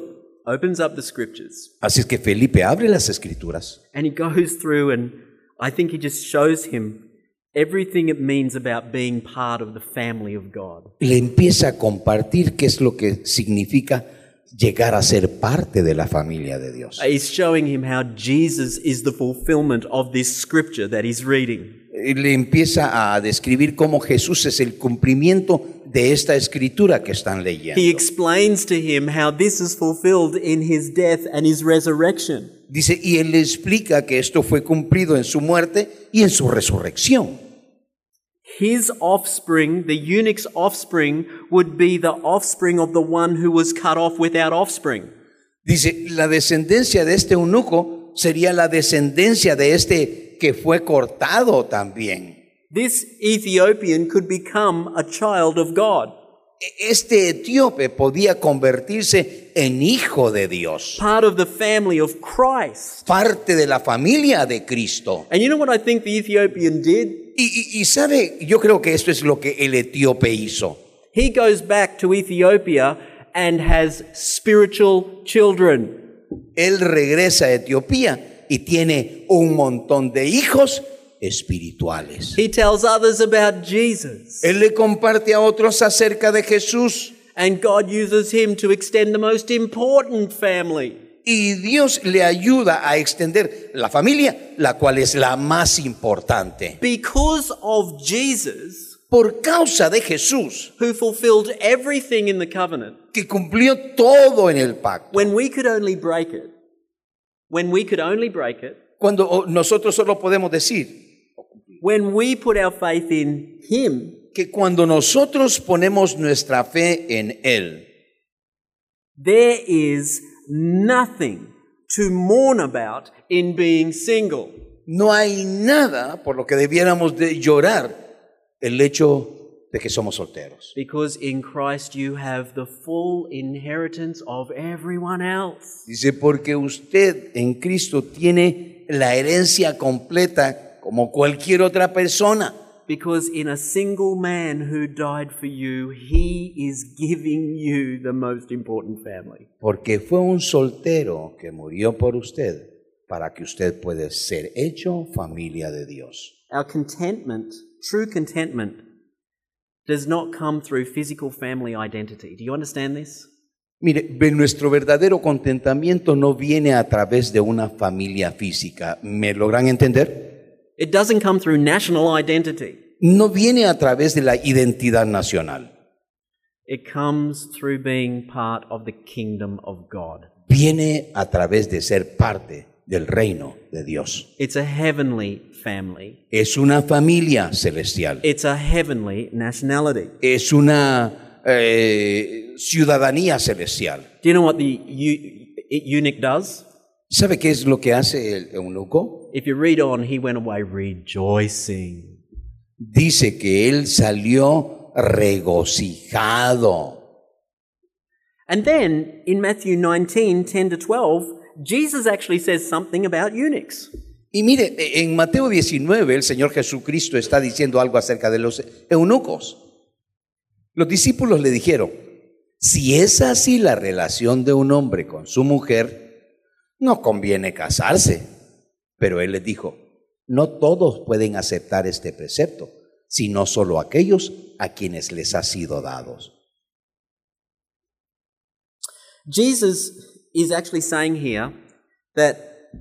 Speaker 1: opens up the scriptures
Speaker 2: Así es que Felipe abre las escrituras
Speaker 1: and he goes through, and I think he just shows him everything it means about being part of the family of God.
Speaker 2: y le empieza a compartir qué es lo que significa llegar a ser parte de la familia de Dios.
Speaker 1: He's showing him how Jesus is the fulfillment of this scripture that he's reading.
Speaker 2: Y le empieza a describir cómo Jesús es el cumplimiento de esta escritura que están leyendo.
Speaker 1: He explains to him how this is fulfilled in his death and his resurrection.
Speaker 2: Dice, y él le explica que esto fue cumplido en su muerte y en su resurrección.
Speaker 1: His offspring, the eunuch's offspring, would be the offspring of the one who was cut off without offspring.
Speaker 2: Dice, la descendencia de este eunuco sería la descendencia de este que fue cortado también.
Speaker 1: This Ethiopian could become a child of God,
Speaker 2: Este etíope podía convertirse en hijo de Dios,
Speaker 1: part of the family of Christ.
Speaker 2: parte de la familia de Cristo.
Speaker 1: And you know what I think the Ethiopian did?
Speaker 2: Y, y, y sabe, yo creo que esto es lo que el etíope hizo.
Speaker 1: He goes back to Ethiopia and has spiritual children.
Speaker 2: Él regresa a Etiopía y tiene un montón de hijos espirituales.
Speaker 1: He tells others about Jesus.
Speaker 2: Él le comparte a otros acerca de Jesús.
Speaker 1: And God uses him to extend the most important family.
Speaker 2: Y Dios le ayuda a extender la familia, la cual es la más importante.
Speaker 1: Because of Jesus,
Speaker 2: Por causa de Jesús,
Speaker 1: who fulfilled everything in the covenant,
Speaker 2: que cumplió todo en el pacto.
Speaker 1: when we could only break it, when we could only break it,
Speaker 2: Cuando nosotros solo podemos decir
Speaker 1: when we put our faith in him,
Speaker 2: que cuando nosotros ponemos nuestra fe en Él,
Speaker 1: there is nothing to mourn about in being single.
Speaker 2: no hay nada por lo que debiéramos de llorar el hecho de que somos solteros.
Speaker 1: Because in Christ you have the full inheritance of everyone else.
Speaker 2: Dice, porque usted en Cristo tiene la herencia completa como cualquier otra persona.
Speaker 1: Because in a single man who died for you, he is giving you the most important family.
Speaker 2: Porque fue un soltero que murió por usted para que usted pueda ser hecho familia de Dios.
Speaker 1: Our contentment, true contentment, does not come through physical family identity. Do you understand this?
Speaker 2: Mire, nuestro verdadero contentamiento no viene a través de una familia física. ¿Me logran entender?
Speaker 1: It doesn't come through national identity.
Speaker 2: No viene a través de la identidad nacional.
Speaker 1: It comes through being part of the kingdom of God.
Speaker 2: Viene a través de ser parte del reino de Dios.
Speaker 1: It's a heavenly family.
Speaker 2: Es una familia celestial.
Speaker 1: It's a heavenly nationality.
Speaker 2: Es una eh, ciudadanía celestial.
Speaker 1: Do you know what the eu- eunuch does?
Speaker 2: ¿Sabe qué es lo que hace el eunuco?
Speaker 1: If you read on, he went away rejoicing.
Speaker 2: Dice que él salió regocijado.
Speaker 1: And then in Matthew nineteen, ten to twelve, Jesus actually says something about eunuchs.
Speaker 2: Y mire, en Mateo diecinueve el Señor Jesucristo está diciendo algo acerca de los eunucos. Los discípulos le dijeron, si es así la relación de un hombre con su mujer, no conviene casarse. Pero él les dijo, no todos pueden aceptar este precepto, sino solo aquellos a quienes les ha sido dados.
Speaker 1: Jesus is actually saying here that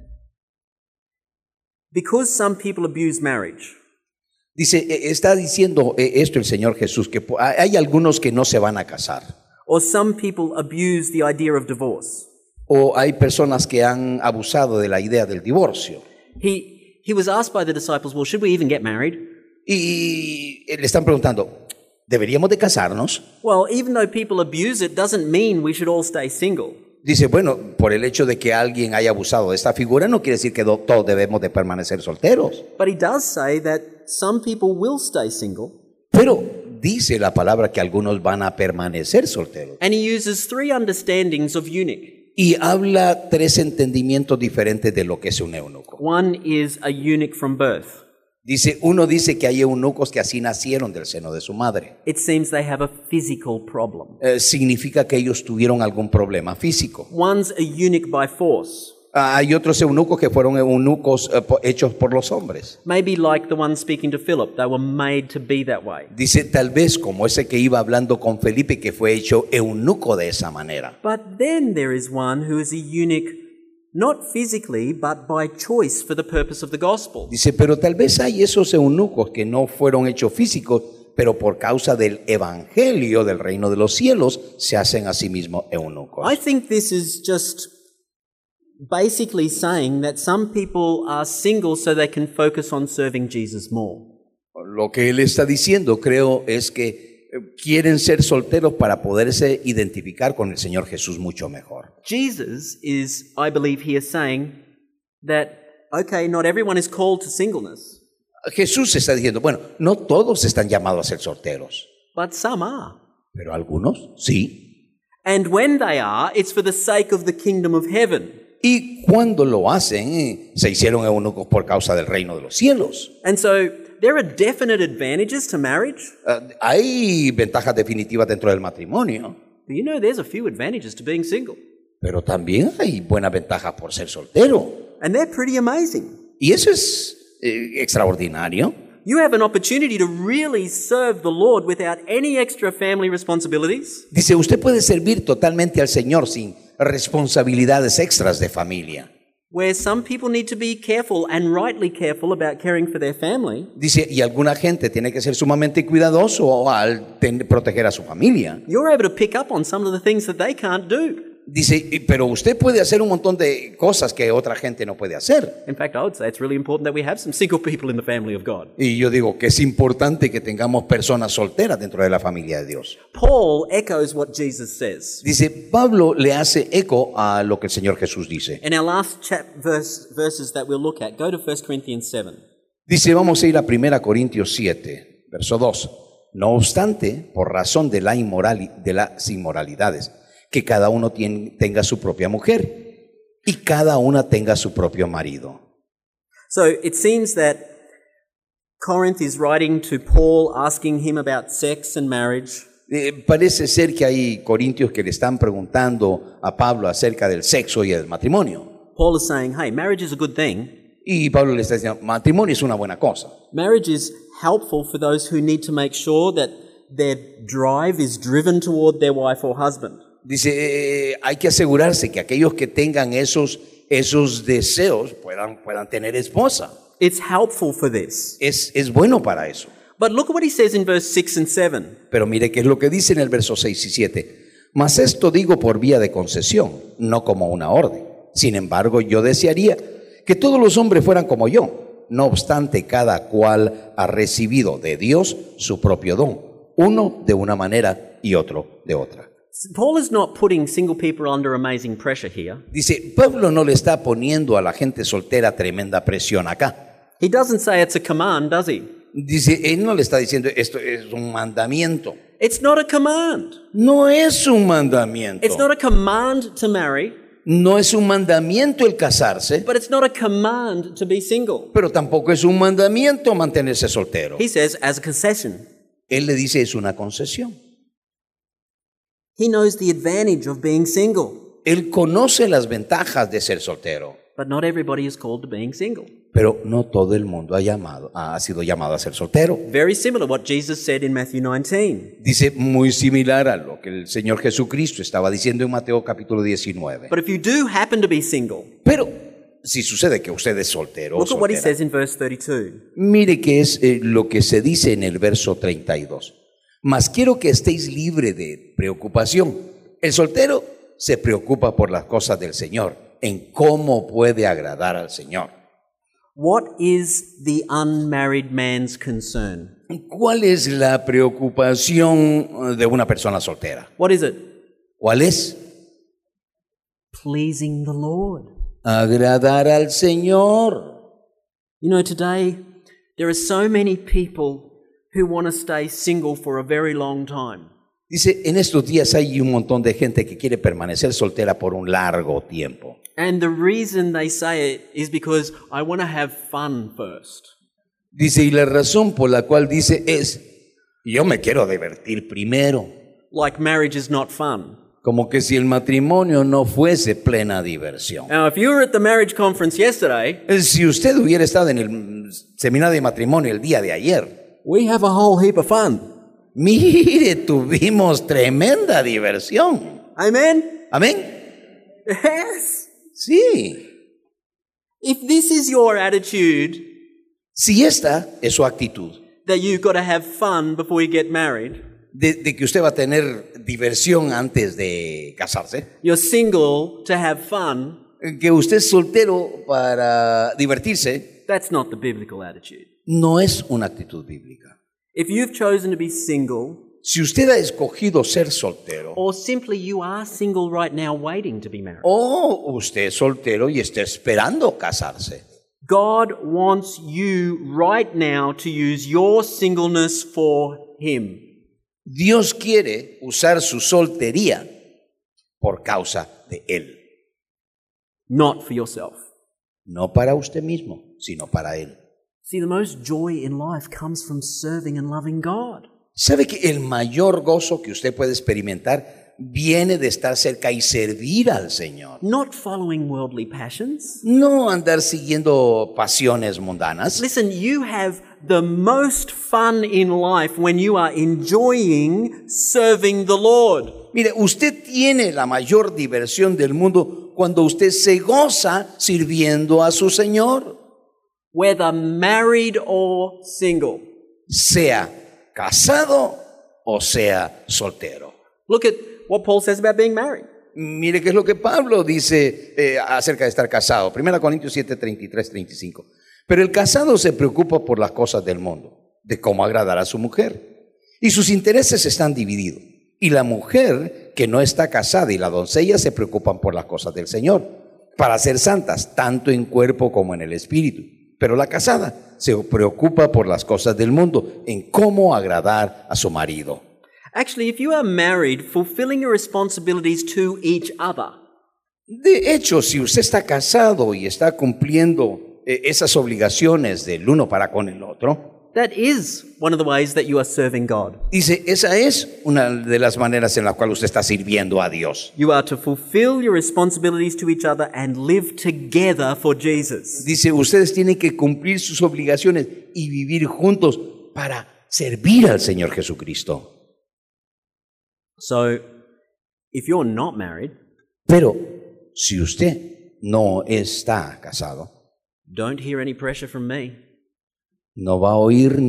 Speaker 1: because some people abuse marriage,
Speaker 2: Dice, está diciendo esto el Señor Jesús, que hay algunos que no se van a casar.
Speaker 1: or some people abuse the idea of divorce.
Speaker 2: O hay personas que han abusado de la idea del divorcio.
Speaker 1: He, he was asked by the disciples, well, should we even get married?
Speaker 2: Y le están preguntando, ¿deberíamos de casarnos?
Speaker 1: Well, even though people abuse it, doesn't mean we should all stay single.
Speaker 2: Dice, bueno, por el hecho de que alguien haya abusado de esta figura, no quiere decir que do- todos debemos de permanecer solteros.
Speaker 1: But he does say that some people will stay single,
Speaker 2: Pero dice la palabra que algunos van a permanecer solteros.
Speaker 1: and he uses three understandings of eunuch.
Speaker 2: Y habla tres entendimientos diferentes de lo que es un eunuco.
Speaker 1: One is a eunuch from birth.
Speaker 2: Dice, uno dice que hay eunucos que así nacieron del seno de su madre.
Speaker 1: It seems they have a physical problem.
Speaker 2: Eh, significa que ellos tuvieron algún problema físico.
Speaker 1: One's a eunuch by force.
Speaker 2: Ah, hay otros eunucos que fueron eunucos eh, po- hechos por los hombres.
Speaker 1: Maybe like the one speaking to Philip, they were made to be that way.
Speaker 2: Dice, tal vez como ese que iba hablando con Felipe, que fue hecho eunuco de esa manera.
Speaker 1: But then there is one who is a eunuch, not physically, but by choice for the purpose of the gospel.
Speaker 2: Dice, pero tal vez hay esos eunucos que no fueron hechos físicos, pero por causa del evangelio del reino de los cielos se hacen a sí mismos eunucos.
Speaker 1: I think this is just basically saying that some people are single so they can focus on serving Jesus more.
Speaker 2: Lo que él está diciendo, creo, es que eh, quieren ser solteros para poderse identificar con el Señor Jesús mucho mejor.
Speaker 1: Jesus is, I believe, here saying that, okay, not everyone is called to singleness,
Speaker 2: Jesús está diciendo, bueno, no todos están llamados a ser solteros,
Speaker 1: but some are.
Speaker 2: pero algunos sí.
Speaker 1: And when they are, it's for the sake of the kingdom of heaven.
Speaker 2: Y cuando lo hacen, eh, se hicieron eunucos por causa del reino de los cielos.
Speaker 1: And so there are definite advantages to marriage,
Speaker 2: Ah, hay ventajas definitivas dentro del matrimonio,
Speaker 1: but you know there's a few advantages to being single.
Speaker 2: pero también hay buenas ventajas por ser soltero.
Speaker 1: And they're pretty amazing.
Speaker 2: Y eso es eh, extraordinario.
Speaker 1: You have an opportunity to really serve the Lord without any extra family responsibilities.
Speaker 2: Dice, usted puede servir totalmente al Señor sin responsabilidades extras de familia.
Speaker 1: Where some people need to be careful and rightly careful about caring for their family,
Speaker 2: Dice, y alguna gente tiene que ser sumamente cuidadoso al ten- proteger a su familia.
Speaker 1: you're able to pick up on some of the things that they can't do.
Speaker 2: Dice, y- pero usted puede hacer un montón de cosas que otra gente no puede hacer.
Speaker 1: In fact, I would say it's really important that we have some single people in the family of God.
Speaker 2: Y yo digo que es importante que tengamos personas solteras dentro de la familia de Dios.
Speaker 1: Paul echoes what Jesus says.
Speaker 2: Dice, Pablo le hace eco a lo que el Señor Jesús dice.
Speaker 1: In our last chap verse, verses that we'll look at, go to First Corinthians seven.
Speaker 2: Dice, vamos a ir a primera Corintios siete, verso dos. No obstante, por razón de, la inmoral, de las inmoralidades, que cada uno tien- tenga su propia mujer y cada una tenga su propio marido.
Speaker 1: So it seems that Corinth is writing to Paul asking him about sex and marriage.
Speaker 2: Eh, parece ser que hay corintios que le están preguntando a Pablo acerca del sexo y el matrimonio.
Speaker 1: Paul is saying, hey, marriage is a good thing.
Speaker 2: Y Pablo le está diciendo, matrimonio es una buena cosa.
Speaker 1: Marriage is helpful for those who need to make sure that their drive is driven toward their wife or husband.
Speaker 2: Dice, eh, hay que asegurarse que aquellos que tengan esos, esos deseos puedan, puedan tener esposa.
Speaker 1: It's helpful for this.
Speaker 2: Es, es bueno para eso.
Speaker 1: But look at what he says in verse six and seven.
Speaker 2: Pero mire qué es lo que dice en el verso seis y siete. Mas esto digo por vía de concesión, no como una orden. Sin embargo, yo desearía que todos los hombres fueran como yo. No obstante, cada cual ha recibido de Dios su propio don, uno de una manera y otro de otra.
Speaker 1: Paul is not putting single people under amazing pressure here.
Speaker 2: Dice, Pablo no le está poniendo a la gente soltera tremenda presión acá.
Speaker 1: He doesn't say it's a command, does he?
Speaker 2: Dice, él no le está diciendo esto es un mandamiento.
Speaker 1: It's not a command.
Speaker 2: No es un mandamiento.
Speaker 1: It's not a command to marry,
Speaker 2: No es un mandamiento el casarse,
Speaker 1: but it's not a command to be single.
Speaker 2: pero tampoco es un mandamiento mantenerse soltero.
Speaker 1: He says as a concession.
Speaker 2: Él le dice es una concesión.
Speaker 1: He knows the advantage of being single,
Speaker 2: Él conoce las ventajas de ser soltero,
Speaker 1: but not everybody is called to being single.
Speaker 2: pero no todo el mundo ha, llamado, ha sido llamado a ser soltero.
Speaker 1: Very similar to what Jesus said in Matthew nineteen.
Speaker 2: Dice muy similar a lo que el Señor Jesucristo estaba diciendo en Mateo capítulo diecinueve.
Speaker 1: But if you do happen to be single,
Speaker 2: Pero si sucede que usted es soltero o
Speaker 1: look at what he
Speaker 2: soltera,
Speaker 1: says in verse thirty-two.
Speaker 2: mire que es eh, lo que se dice en el verso treinta y dos. Mas quiero que estéis libre de preocupación. El soltero se preocupa por las cosas del Señor, en cómo puede agradar al Señor.
Speaker 1: What is the unmarried man's concern?
Speaker 2: ¿Cuál es la preocupación de una persona soltera?
Speaker 1: What is it?
Speaker 2: ¿Cuál es?
Speaker 1: Pleasing the Lord.
Speaker 2: Agradar al Señor.
Speaker 1: You know, today there are so many people who want to stay single for a very long time.
Speaker 2: Dice, en estos días hay un montón de gente que quiere permanecer soltera por un largo tiempo.
Speaker 1: And the reason they say it is because I want to have fun first.
Speaker 2: Dice, y la razón por la cual dice es, yo me quiero divertir primero.
Speaker 1: Like marriage is not fun.
Speaker 2: Como que si el matrimonio no fuese plena diversión.
Speaker 1: Now, if you were at the marriage conference yesterday,
Speaker 2: Si usted hubiera estado en el seminario de matrimonio el día de ayer,
Speaker 1: we have a whole heap of fun.
Speaker 2: mire, tuvimos tremenda diversión.
Speaker 1: Amen?
Speaker 2: ¿Amén?
Speaker 1: Yes.
Speaker 2: Sí.
Speaker 1: If this is your attitude,
Speaker 2: Si esta es su actitud,
Speaker 1: that you've got to have fun before you get married,
Speaker 2: de, de que usted va a tener diversión antes de casarse,
Speaker 1: you're single to have fun,
Speaker 2: que usted es soltero para divertirse,
Speaker 1: that's not the biblical attitude.
Speaker 2: no es una actitud bíblica.
Speaker 1: If you've chosen to be single,
Speaker 2: Si usted ha escogido ser soltero,
Speaker 1: or simply you are single right now waiting to be married,
Speaker 2: o usted es soltero y está esperando casarse,
Speaker 1: God wants you right now to use your singleness for Him.
Speaker 2: Dios quiere usar su soltería por causa de Él.
Speaker 1: Not for yourself.
Speaker 2: No para usted mismo, sino para Él.
Speaker 1: See, the most joy in life comes from serving and loving God.
Speaker 2: ¿Sabe que el mayor gozo que usted puede experimentar viene de estar cerca y servir al Señor?
Speaker 1: Not following worldly passions.
Speaker 2: No andar siguiendo pasiones mundanas.
Speaker 1: Listen, you have the most fun in life when you are enjoying serving the Lord.
Speaker 2: Mire, usted tiene la mayor diversión del mundo cuando usted se goza sirviendo a su Señor.
Speaker 1: Whether married or single.
Speaker 2: Sea casado o sea soltero.
Speaker 1: Look at what Paul says about being married.
Speaker 2: Mire qué es lo que Pablo dice eh, acerca de estar casado. Primera Corintios siete, treinta y tres, treinta y cinco. Pero el casado se preocupa por las cosas del mundo, de cómo agradar a su mujer. Y sus intereses están divididos. Y la mujer que no está casada y la doncella se preocupan por las cosas del Señor, para ser santas, tanto en cuerpo como en el espíritu. Pero la casada se preocupa por las cosas del mundo, en cómo agradar a su marido.
Speaker 1: Actually, if you are married, fulfilling your responsibilities to each other
Speaker 2: De hecho, si usted está casado y está cumpliendo eh, esas obligaciones del uno para con el otro,
Speaker 1: that is one of the ways that you are serving God.
Speaker 2: dice, esa es una de las maneras en la cual usted está sirviendo a Dios.
Speaker 1: You are to fulfill your responsibilities to each other and live together for Jesus.
Speaker 2: Dice, ustedes tienen que cumplir sus obligaciones y vivir juntos para servir al Señor Jesucristo.
Speaker 1: So, if you're not married,
Speaker 2: Pero si usted no está casado,
Speaker 1: don't hear any pressure from me.
Speaker 2: no va a oír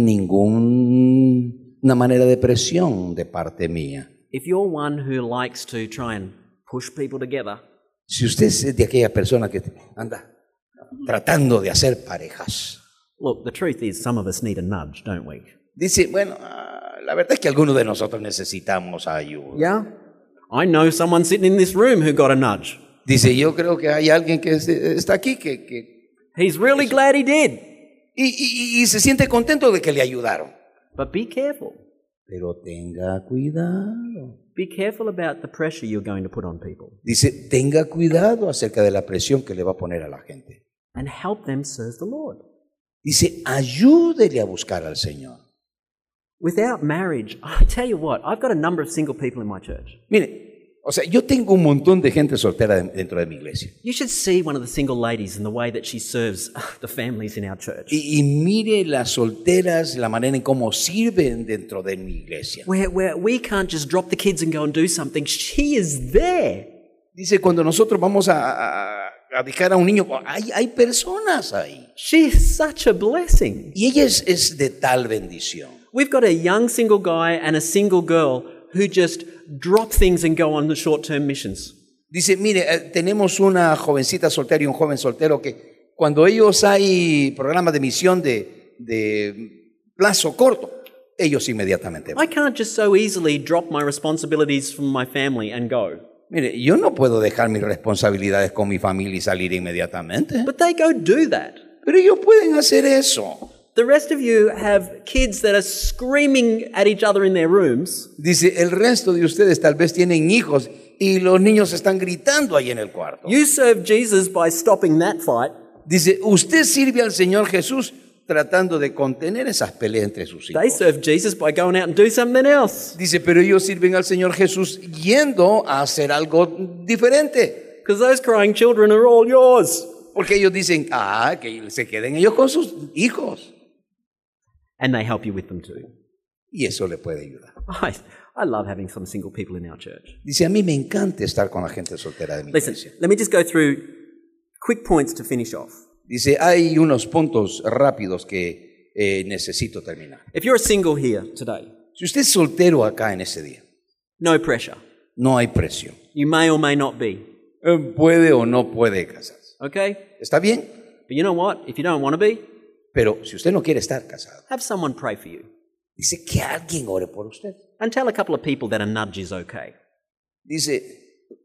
Speaker 2: ninguna manera de presión de parte mía.
Speaker 1: If you're one who likes to try and push people together,
Speaker 2: Si usted es de aquella persona que anda tratando de hacer parejas,
Speaker 1: look, the truth is some of us need a nudge, don't we?
Speaker 2: dice, bueno, ah, la verdad es que algunos de nosotros necesitamos ayuda.
Speaker 1: Yeah? I know someone sitting in this room who got a nudge.
Speaker 2: Dice, yo creo que hay alguien que es- está aquí que, que
Speaker 1: He's really glad he did.
Speaker 2: y, y- y se siente contento de que le ayudaron.
Speaker 1: But be careful.
Speaker 2: Pero tenga cuidado.
Speaker 1: Be careful about the pressure you're going to put on people
Speaker 2: Dice, tenga cuidado acerca de la presión que le va a poner a la gente.
Speaker 1: and help them serve the Lord.
Speaker 2: Dice, ayúdele a buscar al Señor.
Speaker 1: Without marriage, I tell you what, I've got a number of single people in my church.
Speaker 2: Mire, o sea, yo tengo un montón de gente soltera de- dentro de mi iglesia.
Speaker 1: You should see one of the single ladies and the way that she serves the families in our church.
Speaker 2: Y, y mire las solteras, la manera en cómo sirven dentro de mi iglesia.
Speaker 1: Where, where we can't just drop the kids and go and do something. She is there.
Speaker 2: Dice, cuando nosotros vamos a, a, a dejar a un niño, hay, hay personas ahí.
Speaker 1: She is such a blessing.
Speaker 2: Y ella es, es de tal bendición.
Speaker 1: We've got a young single guy and a single girl who just drop things and go on the short-term missions.
Speaker 2: Dice, mire, eh, tenemos una jovencita soltera y un joven soltero que cuando ellos hay programas de misión de, de plazo corto, ellos inmediatamente van.
Speaker 1: I can't just so easily drop my responsibilities from my family and go.
Speaker 2: Mire, yo no puedo dejar mis responsabilidades con mi familia y salir inmediatamente.
Speaker 1: But they go do that.
Speaker 2: Pero ellos pueden hacer eso.
Speaker 1: The rest of you have kids that are screaming at each other in their rooms.
Speaker 2: Dice, el resto de ustedes tal vez tienen hijos y los niños están gritando ahí en el cuarto.
Speaker 1: You serve Jesus by stopping that fight.
Speaker 2: Dice, usted sirve al Señor Jesús tratando de contener esas peleas entre sus hijos.
Speaker 1: They serve Jesus by going out and do something else.
Speaker 2: Dice, pero ellos sirven al Señor Jesús yendo a hacer algo diferente.
Speaker 1: Because those crying children are all yours.
Speaker 2: Porque ellos dicen, ah, que se queden ellos con sus hijos.
Speaker 1: And they help you with them too.
Speaker 2: Y eso le puede ayudar.
Speaker 1: I, I love having some single people in our church.
Speaker 2: Dice, a mí me encanta estar con la gente soltera de mi
Speaker 1: Listen,
Speaker 2: iglesia.
Speaker 1: let me just go through quick points to finish off.
Speaker 2: Dice, hay unos puntos rápidos que eh, necesito terminar.
Speaker 1: If you're a single here today,
Speaker 2: Si usted es soltero acá en ese día,
Speaker 1: no pressure.
Speaker 2: no hay presión.
Speaker 1: You may or may not be.
Speaker 2: Eh, Puede o no puede casarse.
Speaker 1: Okay?
Speaker 2: ¿Está bien?
Speaker 1: But you know what? If you don't want to be,
Speaker 2: Pero si usted no quiere estar casado,
Speaker 1: have someone pray for you.
Speaker 2: dice que alguien ore por usted.
Speaker 1: And tell a couple of people that a nudge is okay.
Speaker 2: Dice,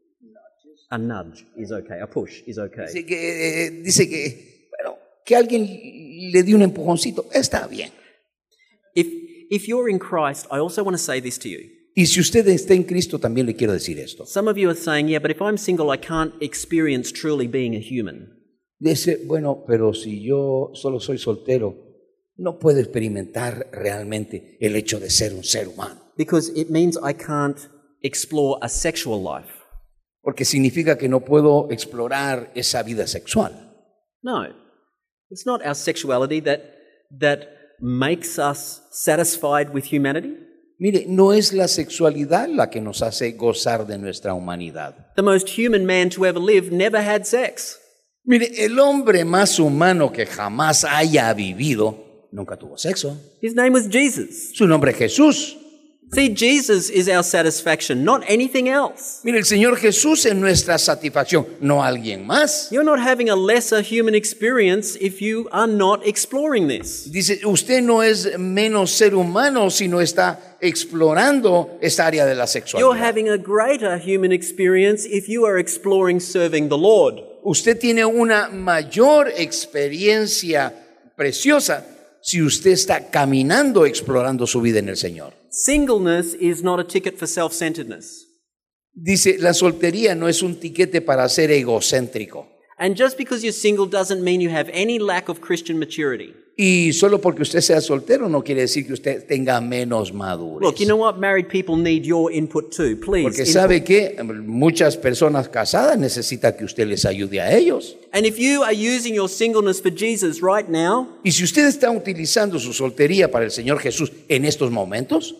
Speaker 1: A nudge is okay. A push is okay.
Speaker 2: dice que, eh, dice que, bueno, que alguien le dé un empujoncito. Está bien.
Speaker 1: If, if you're in Christ, I also want to say this to you.
Speaker 2: Y si usted está en Cristo, también le quiero decir esto.
Speaker 1: Some of you are saying, yeah, but if I'm single, I can't experience truly being a human.
Speaker 2: Dice, bueno, pero si yo solo soy soltero, no puedo experimentar realmente el hecho de ser un ser humano.
Speaker 1: Because it means I can't explore a sexual life.
Speaker 2: Porque significa que no puedo explorar esa vida sexual.
Speaker 1: No. It's not our sexuality that, that makes us satisfied with humanity.
Speaker 2: Mire, no es la sexualidad la que nos hace gozar de nuestra humanidad.
Speaker 1: The most human man to ever live never had sex.
Speaker 2: Mire, el hombre más humano que jamás haya vivido nunca tuvo sexo.
Speaker 1: His name was Jesus.
Speaker 2: Su nombre es Jesús.
Speaker 1: See, Jesus is our satisfaction, not anything else.
Speaker 2: Mire, el Señor Jesús es nuestra satisfacción, no alguien más.
Speaker 1: You're not having a lesser human experience if you are not exploring this.
Speaker 2: Dice, usted no es menos ser humano si no está explorando esta área de la
Speaker 1: You're
Speaker 2: sexualidad.
Speaker 1: having a greater human experience if you are exploring serving the Lord.
Speaker 2: Usted tiene una mayor experiencia preciosa si usted está caminando, explorando su vida en el Señor.
Speaker 1: Singleness is not a ticket for self-centeredness.
Speaker 2: Dice, la soltería no es un tiquete para ser egocéntrico.
Speaker 1: And just because you're single doesn't mean you have any lack of Christian maturity.
Speaker 2: Y solo porque usted sea soltero no quiere decir que usted tenga menos madurez.
Speaker 1: Look, you know what? Married people need your input too. Please.
Speaker 2: Porque
Speaker 1: input.
Speaker 2: sabe que muchas personas casadas necesitan que usted les ayude a ellos.
Speaker 1: And if you are using your singleness for Jesus right now,
Speaker 2: Y si usted está utilizando su soltería para el Señor Jesús en estos momentos,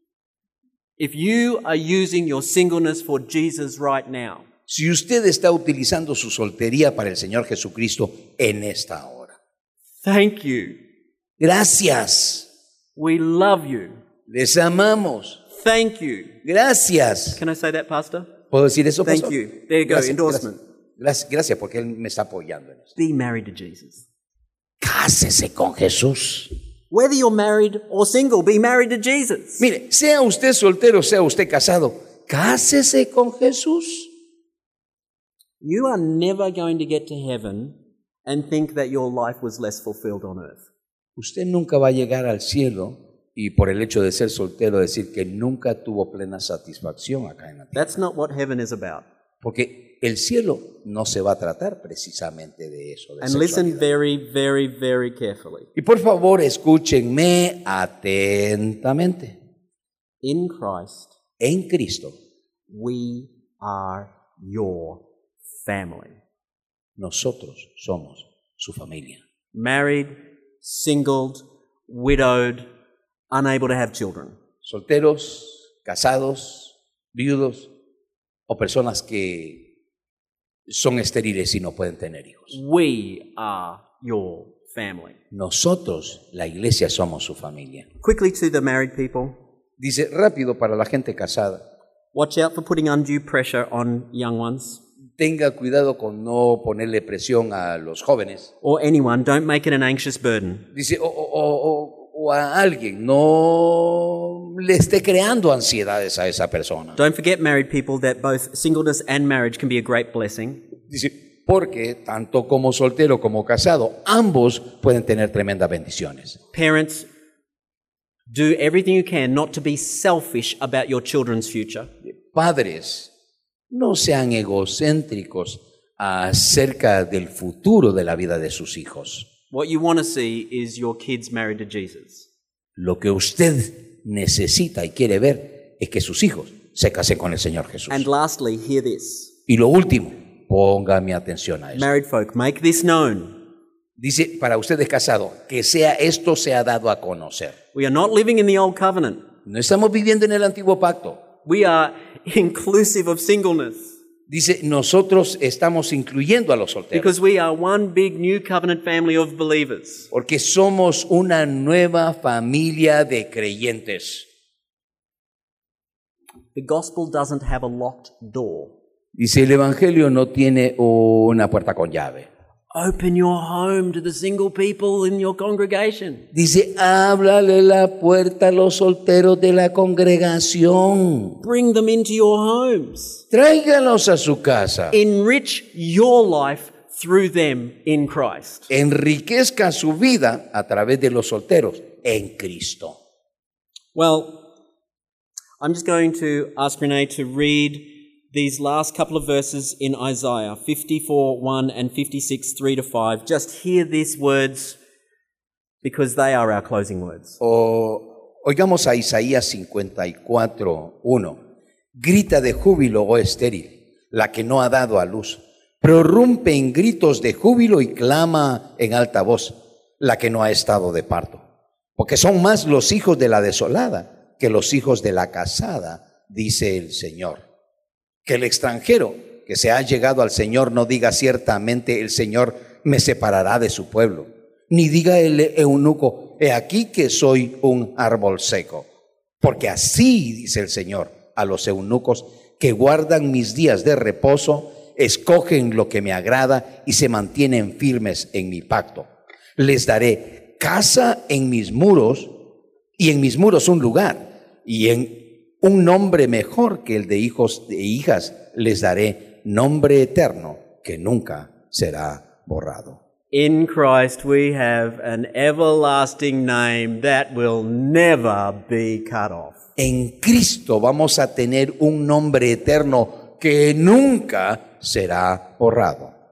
Speaker 1: if you are using your singleness for Jesus right now,
Speaker 2: si usted está utilizando su soltería para el Señor Jesucristo en esta hora,
Speaker 1: thank you.
Speaker 2: gracias,
Speaker 1: We love you.
Speaker 2: les amamos,
Speaker 1: Thank you.
Speaker 2: gracias.
Speaker 1: Can I say that, Pastor?
Speaker 2: ¿Puedo decir eso,
Speaker 1: Thank
Speaker 2: pastor?
Speaker 1: you. There you go,
Speaker 2: Gracias,
Speaker 1: endorsement.
Speaker 2: Gracias, gracias, gracias, porque él me está apoyando en esto.
Speaker 1: Be married to Jesus.
Speaker 2: Cásese con Jesús.
Speaker 1: Whether you're married or single, be married to Jesus.
Speaker 2: Mire, sea usted soltero, sea usted casado, cásese con Jesús.
Speaker 1: You are never going to get to heaven and think that your life was less fulfilled on earth.
Speaker 2: Usted nunca va a llegar al cielo y por el hecho de ser soltero decir que nunca tuvo plena satisfacción acá en la tierra.
Speaker 1: That's not what heaven is about.
Speaker 2: Porque el cielo no se va a tratar precisamente de eso. De
Speaker 1: And listen
Speaker 2: sexualidad.
Speaker 1: very, very, very carefully.
Speaker 2: Y por favor, escúchenme atentamente.
Speaker 1: In Christ,
Speaker 2: En Cristo,
Speaker 1: we are your family.
Speaker 2: nosotros somos su familia.
Speaker 1: Married, singled, widowed, unable to have children.
Speaker 2: Solteros, casados, viudos o personas que son estériles y no pueden tener hijos.
Speaker 1: We are your family.
Speaker 2: Nosotros, la iglesia, somos su familia.
Speaker 1: Quickly to the married people,
Speaker 2: Dice rápido para la gente casada.
Speaker 1: watch out for putting undue pressure on young ones
Speaker 2: Tenga cuidado con no ponerle presión a los jóvenes.
Speaker 1: or anyone. Don't make it an anxious burden.
Speaker 2: Dice, o, o- o- o a alguien, no le esté creando ansiedades a esa persona.
Speaker 1: Don't forget, married people, that both singleness and marriage can be a great blessing.
Speaker 2: Dice, porque tanto como soltero como casado, ambos pueden tener tremendas bendiciones.
Speaker 1: Parents, do everything you can not to be selfish about your children's future.
Speaker 2: Padres, no sean egocéntricos acerca del futuro de la vida de sus hijos.
Speaker 1: What you want to see is your kids married to Jesus.
Speaker 2: Lo que usted necesita y quiere ver es que sus hijos se casen con el Señor Jesús.
Speaker 1: And lastly, hear this.
Speaker 2: Y lo último, ponga mi atención a esto.
Speaker 1: Married folk, make this known.
Speaker 2: Dice, para ustedes casados, que sea esto sea dado a conocer.
Speaker 1: We are not living in the old covenant.
Speaker 2: No estamos viviendo en el antiguo pacto.
Speaker 1: We are inclusive of singleness
Speaker 2: Dice, nosotros estamos incluyendo a los solteros.
Speaker 1: because we are one big new covenant family of believers.
Speaker 2: Porque somos una nueva familia de creyentes.
Speaker 1: The gospel doesn't have a locked door.
Speaker 2: Dice, el Evangelio no tiene una puerta con llave.
Speaker 1: Open your home to the single people in your congregation.
Speaker 2: Dice, háblale la puerta a los solteros de la congregación.
Speaker 1: Bring them into your homes.
Speaker 2: Tráigalos a su casa.
Speaker 1: Enrich your life through them in Christ.
Speaker 2: Enriquezca su vida a través de los solteros en Cristo.
Speaker 1: Well, I'm just going to ask Renee to read these last couple of verses in Isaiah fifty-four, one and fifty-six, three to five. Just hear these words because they are our closing words.
Speaker 2: O, oigamos a Isaías cincuenta y cuatro, uno. Grita de júbilo, oh estéril, la que no ha dado a luz. Prorrumpe en gritos de júbilo y clama en alta voz, la que no ha estado de parto. Porque son más los hijos de la desolada que los hijos de la casada, dice el Señor. Que el extranjero que se ha llegado al Señor no diga ciertamente el Señor me separará de su pueblo, ni diga el eunuco, he aquí que soy un árbol seco. Porque así dice el Señor a los eunucos que guardan mis días de reposo, escogen lo que me agrada y se mantienen firmes en mi pacto. Les daré casa en mis muros y en mis muros un lugar y en un nombre mejor que el de hijos e hijas les daré, nombre eterno que nunca será borrado.
Speaker 1: In Christ we have an everlasting name that will never be cut off.
Speaker 2: En Cristo vamos a tener un nombre eterno que nunca será borrado.